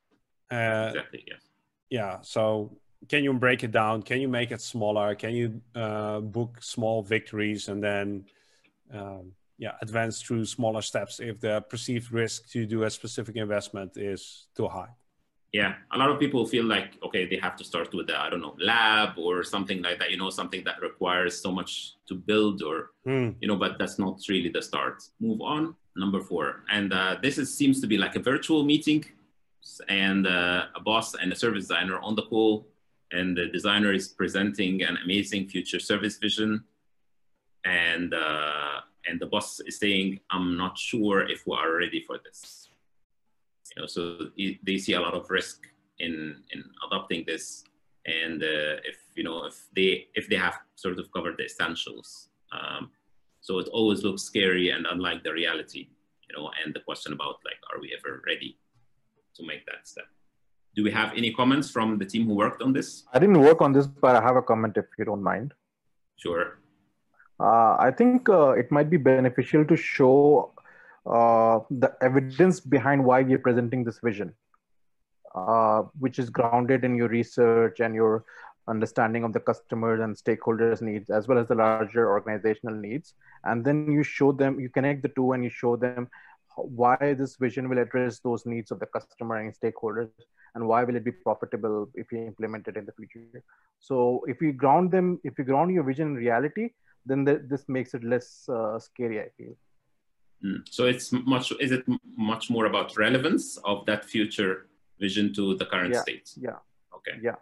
Uh, exactly, yes. Yeah, so can you break it down? Can you make it smaller? Can you uh, book small victories and then um, yeah, advance through smaller steps if the perceived risk to do a specific investment is too high? Yeah, a lot of people feel like, okay, they have to start with the, I don't know, lab or something like that, you know, something that requires so much to build or, mm. you know, but that's not really the start. Move on, number four. And uh, this is, seems to be like a virtual meeting, and uh, a boss and a service designer on the call, and the designer is presenting an amazing future service vision. And, uh, and the boss is saying, I'm not sure if we are ready for this. You know, so they see a lot of risk in in adopting this, and uh, if you know if they if they have sort of covered the essentials, um, so it always looks scary and unlike the reality, you know. And the question about like, are we ever ready to make that step? Do we have any comments from the team who worked on this? I didn't work on this, but I have a comment if you don't mind. Sure. Uh, I think uh, it might be beneficial to show Uh, the evidence behind why we are presenting this vision, uh, which is grounded in your research and your understanding of the customers and stakeholders' needs, as well as the larger organizational needs. And then you show them, you connect the two and you show them why this vision will address those needs of the customer and stakeholders, and why will it be profitable if you implement it in the future. So if you ground them, if you ground your vision in reality, then the, this makes it less uh, scary, I feel. So it's much, is it much more about relevance of that future vision to the current yeah, state? Yeah. Okay. Yeah.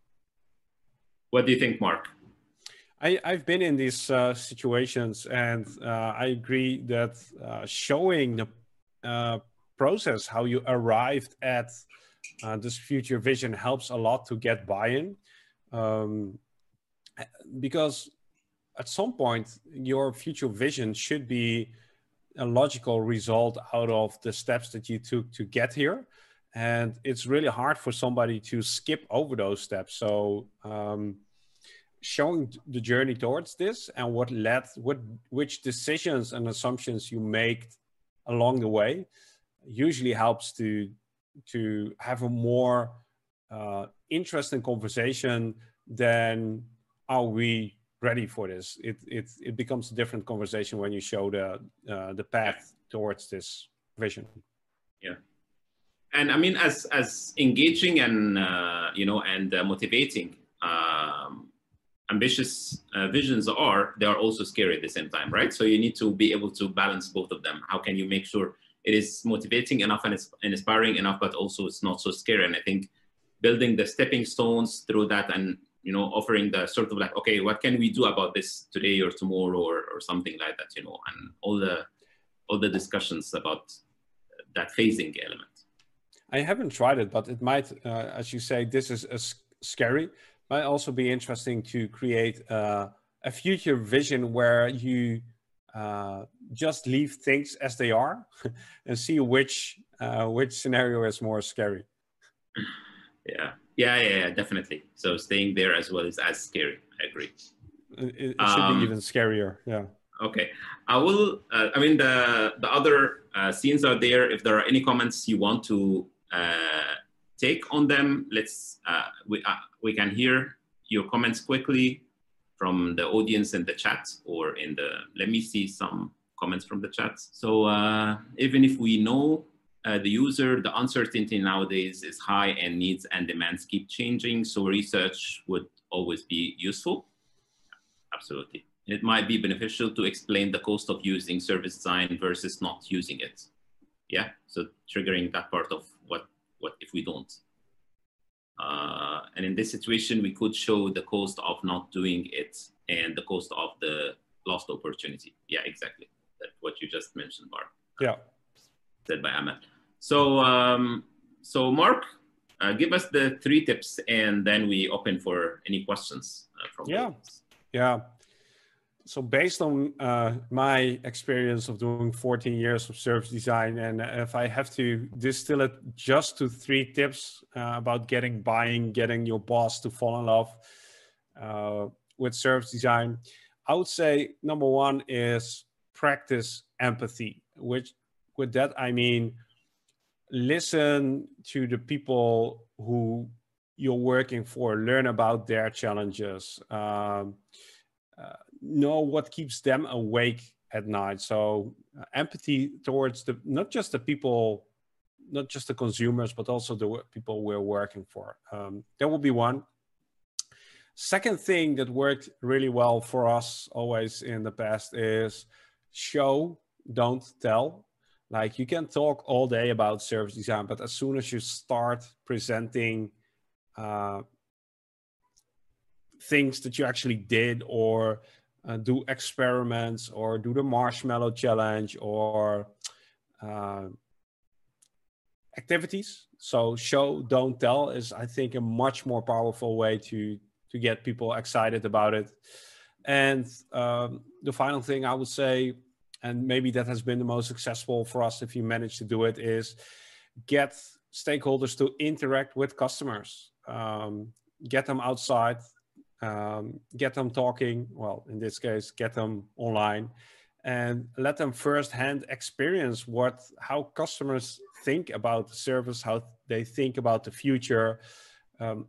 What do you think, Mark? I, I've been in these uh, situations, and uh, I agree that uh, showing the uh, process, how you arrived at uh, this future vision, helps a lot to get buy-in. Um, because at some point, your future vision should be a logical result out of the steps that you took to get here. And it's really hard for somebody to skip over those steps. So um, showing the journey towards this and what led, what, which decisions and assumptions you make along the way usually helps to, to have a more uh, interesting conversation than, are we ready for this? It, it, it becomes a different conversation when you show the, uh, the path towards this vision. Yeah. And I mean, as, as engaging and, uh, you know, and uh, motivating um, ambitious uh, visions are, they are also scary at the same time, right? So you need to be able to balance both of them. How can you make sure it is motivating enough and inspiring enough, but also it's not so scary? And I think building the stepping stones through that, and you know, offering the sort of like, okay, what can we do about this today or tomorrow or, or something like that, you know, and all the all the discussions about that phasing element. I haven't tried it, but it might, uh, as you say, this is a scary, might also be interesting to create uh, a future vision where you uh, just leave things as they are and see which uh, which scenario is more scary. Yeah. Yeah, yeah, yeah, definitely. So staying there as well is as scary. I agree. It, it should um, be even scarier. Yeah. Okay. I will. Uh, I mean, the the other uh, scenes are there. If there are any comments you want to uh, take on them, let's. Uh, we uh, we can hear your comments quickly from the audience in the chat or in the. Let me see some comments from the chat. So uh, even if we know. Uh, the user, the uncertainty nowadays is high and needs and demands keep changing. So research would always be useful. Absolutely. It might be beneficial to explain the cost of using service design versus not using it. Yeah, so triggering that part of what, what if we don't. Uh, and in this situation, we could show the cost of not doing it and the cost of the lost opportunity. Yeah, exactly. That's what you just mentioned, Mark. Yeah. Said by Ahmed. So, um, so Mark, uh, give us the three tips, and then we open for any questions uh, from yeah, yeah. So based on uh, my experience of doing fourteen years of service design, and if I have to distill it just to three tips uh, about getting buying, getting your boss to fall in love uh, with service design, I would say number one is practice empathy, which with that I mean listen to the people who you're working for, learn about their challenges, um, uh, know what keeps them awake at night. So uh, empathy towards the, not just the people, not just the consumers, but also the people we're working for. Um, that will be one. Second thing that worked really well for us always in the past is show, don't tell. Like you can talk all day about service design, but as soon as you start presenting uh, things that you actually did, or uh, do experiments, or do the marshmallow challenge, or uh, activities. So show, don't tell is, I think, a much more powerful way to, to get people excited about it. And um, the final thing I would say, and maybe that has been the most successful for us if you manage to do it, is get stakeholders to interact with customers. Um, get them outside, um, get them talking, well, in this case, get them online, and let them firsthand experience what, how customers think about the service, how they think about the future. Um,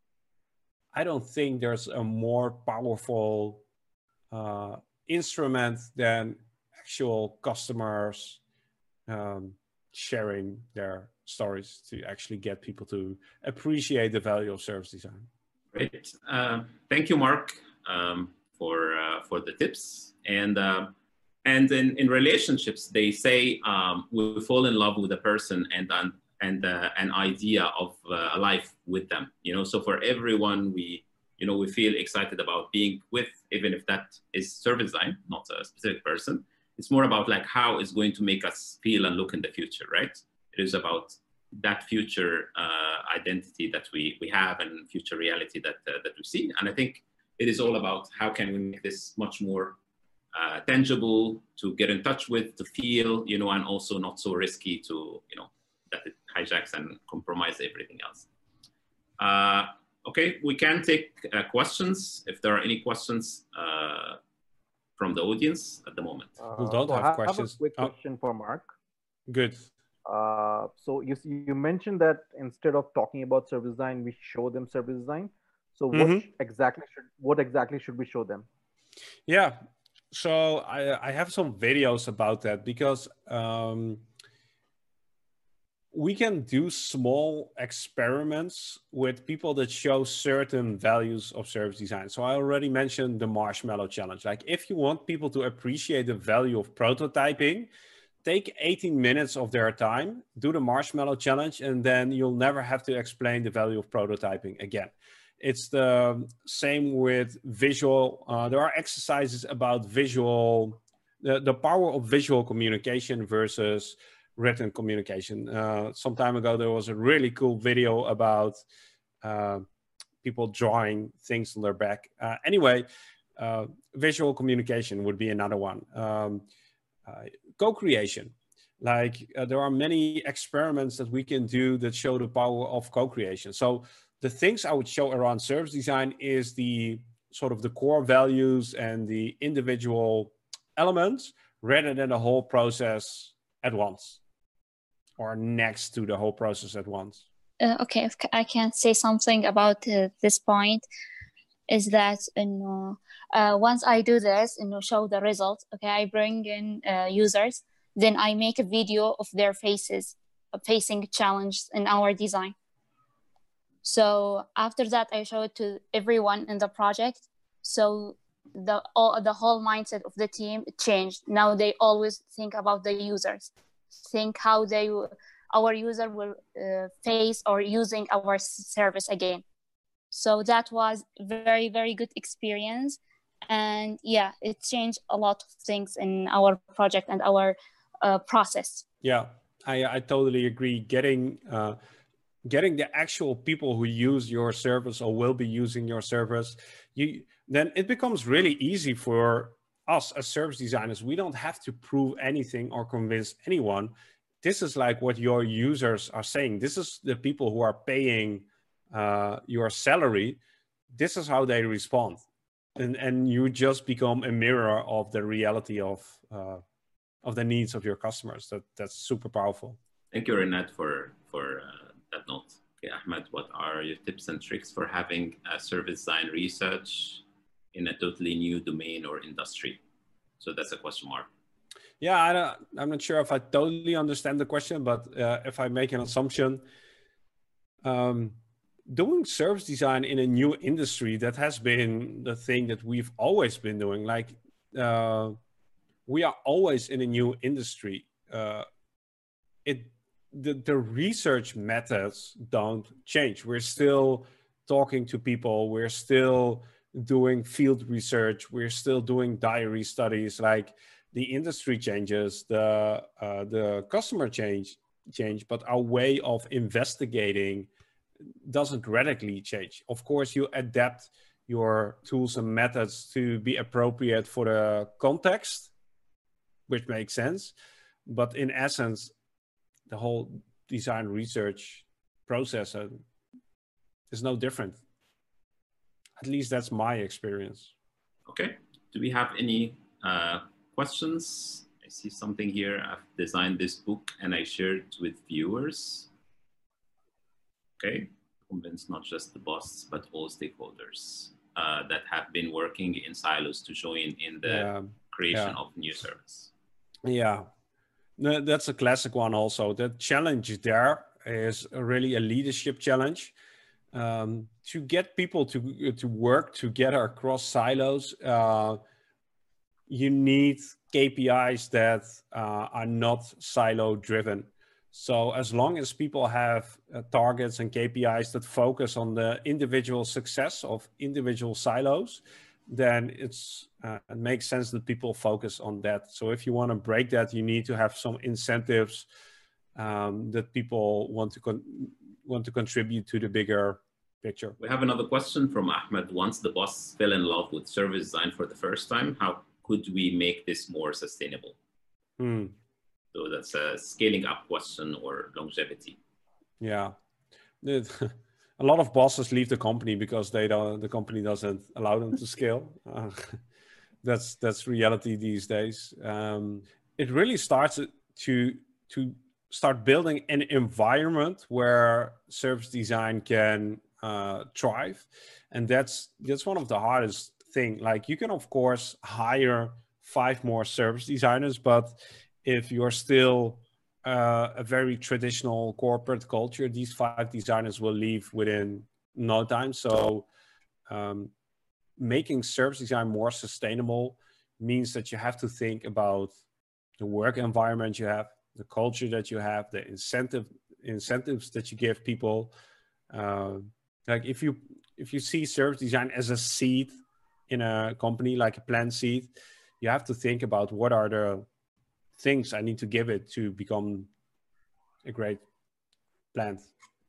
I don't think there's a more powerful uh, instrument than actual customers um, sharing their stories to actually get people to appreciate the value of service design. Great. Uh, thank you, Mark, um, for uh, for the tips. And uh, and in, in relationships, they say um, we fall in love with a person and an and uh, an idea of uh, a life with them. You know, so for everyone, we you know we feel excited about being with, even if that is service design, not a specific person. It's more about like how it's going to make us feel and look in the future, right? It is about that future uh, identity that we, we have and future reality that, uh, that we see. And I think it is all about how can we make this much more uh, tangible to get in touch with, to feel, you know, and also not so risky to, you know, that it hijacks and compromise everything else. Uh, okay, we can take uh, questions if there are any questions uh, from the audience at the moment. Who don't Uh, so have I questions? have a quick Oh. question for Mark. Good. Uh, so you you mentioned that instead of talking about service design, we show them service design. So what Mhm. exactly should what exactly should we show them? Yeah. So I, I have some videos about that, because um, we can do small experiments with people that show certain values of service design. So I already mentioned the marshmallow challenge. Like if you want people to appreciate the value of prototyping, take eighteen minutes of their time, do the marshmallow challenge, and then you'll never have to explain the value of prototyping again. It's the same with visual. Uh, there are exercises about visual, the, the power of visual communication versus written communication. Uh, some time ago, there was a really cool video about uh, people drawing things on their back. Uh, anyway, uh, visual communication would be another one. Um, uh, co-creation. Like uh, there are many experiments that we can do that show the power of co-creation. So the things I would show around service design is the sort of the core values and the individual elements, rather than the whole process at once or next to the whole process at once. Uh, okay, if I can say something about uh, this point, is that you know, uh, once I do this and you know, show the results, okay, I bring in uh, users, then I make a video of their faces uh, facing challenge in our design. So after that, I show it to everyone in the project. So the all the whole mindset of the team changed. Now they always think about the users, think how they our user will uh, face or using our service again. So that was very, very good experience. And yeah, it changed a lot of things in our project and our uh, process. Yeah, I, I totally agree. Getting, uh, getting the actual people who use your service or will be using your service, you, then it becomes really easy for us as service designers. We don't have to prove anything or convince anyone. This is like what your users are saying. This is the people who are paying uh, your salary. This is how they respond. And, and you just become a mirror of the reality of, uh, of the needs of your customers. That, that's super powerful. Thank you, Renat, for, for uh, that note. Okay, Ahmed, what are your tips and tricks for having a service design research in a totally new domain or industry? So that's a question mark. Yeah, I don't, I'm not sure if I totally understand the question, but uh, if I make an assumption, um, doing service design in a new industry, that has been the thing that we've always been doing. Like, uh, we are always in a new industry. Uh, it the, the research methods don't change. We're still talking to people. We're still doing field research. We're still doing diary studies. Like, the industry changes, the uh, the customer change change, but our way of investigating doesn't radically change. Of course, you adapt your tools and methods to be appropriate for the context, which makes sense. But in essence, the whole design research process uh, is no different. At least that's my experience. Okay. Do we have any uh, questions? I see something here. I've designed this book and I shared with viewers. Okay. Convince not just the boss, but all stakeholders uh, that have been working in silos to join in the Yeah. creation Yeah. of new service. Yeah, no, that's a classic one also. The challenge there is really a leadership challenge. Um, to get people to, to work together across silos, uh, you need K P Is that uh, are not silo driven. So as long as people have uh, targets and K P Is that focus on the individual success of individual silos, then it's uh, it makes sense that people focus on that. So if you want to break that, you need to have some incentives um, that people want to con want to contribute to the bigger picture. We have another question from Ahmed. Once the boss fell in love with service design for the first time, how could we make this more sustainable? Hmm. So that's a scaling up question or longevity. Yeah. A lot of bosses leave the company because they don't, the company doesn't allow them to scale. Uh, that's that's reality these days. Um, it really starts to to start building an environment where service design can uh, thrive, and that's that's one of the hardest thing. Like, you can of course hire five more service designers, but if you're still Uh, a very traditional corporate culture, these five designers will leave within no time. So um, making service design more sustainable means that you have to think about the work environment you have, the culture that you have, the incentive incentives that you give people. Uh, like if you if you see service design as a seed in a company, like a plant seed, you have to think about what are the things I need to give it to become a great plant.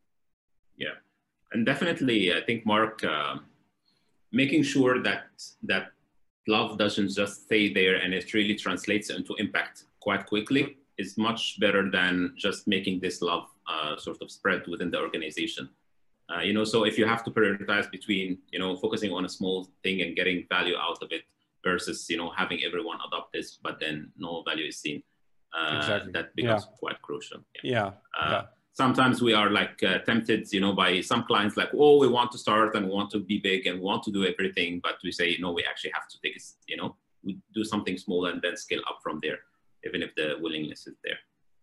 Yeah, and definitely, I think, Mark, uh, making sure that that love doesn't just stay there and it really translates into impact quite quickly is much better than just making this love uh, sort of spread within the organization. Uh, you know, so if you have to prioritize between, you know, focusing on a small thing and getting value out of it versus, you know, having everyone adopt this, but then no value is seen, uh, Exactly. that becomes Yeah. quite crucial. Yeah. Uh, yeah. Sometimes we are like uh, tempted, you know, by some clients like, oh, we want to start and we want to be big and we want to do everything, but we say, no, we actually have to take it, you know, we do something small and then scale up from there, even if the willingness is there.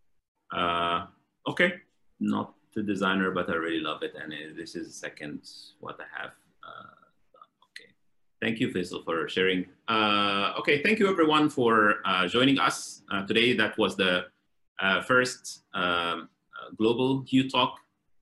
Uh, okay, not the designer, but I really love it. And uh, this is second what I have uh, done. Okay, thank you, Faisal, for sharing. Uh, okay, thank you everyone for uh, joining us uh, today. That was the uh, first um, uh, global Q Talk.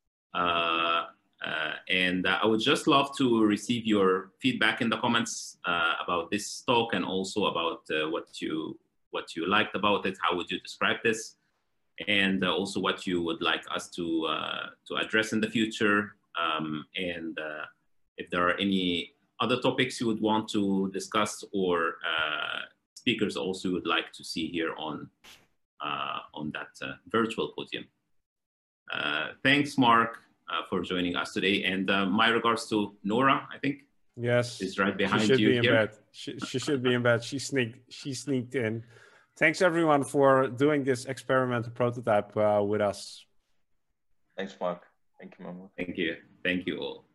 Uh, uh, and uh, I would just love to receive your feedback in the comments uh, about this talk and also about uh, what you what you liked about it. How would you describe this? And uh, also what you would like us to uh, to address in the future, um, and uh, if there are any other topics you would want to discuss or uh, speakers also you would like to see here on uh, on that uh, virtual podium. Uh, thanks, Mark, uh, for joining us today, and uh, my regards to Nora. I think Yes, is right behind she should you be in here. bed. She, she should be in bed. She sneaked. She sneaked in. thanks everyone for doing this experimental prototype uh, with us. Thanks, Mark. Thank you, Mahmoud. Thank you. Thank you all.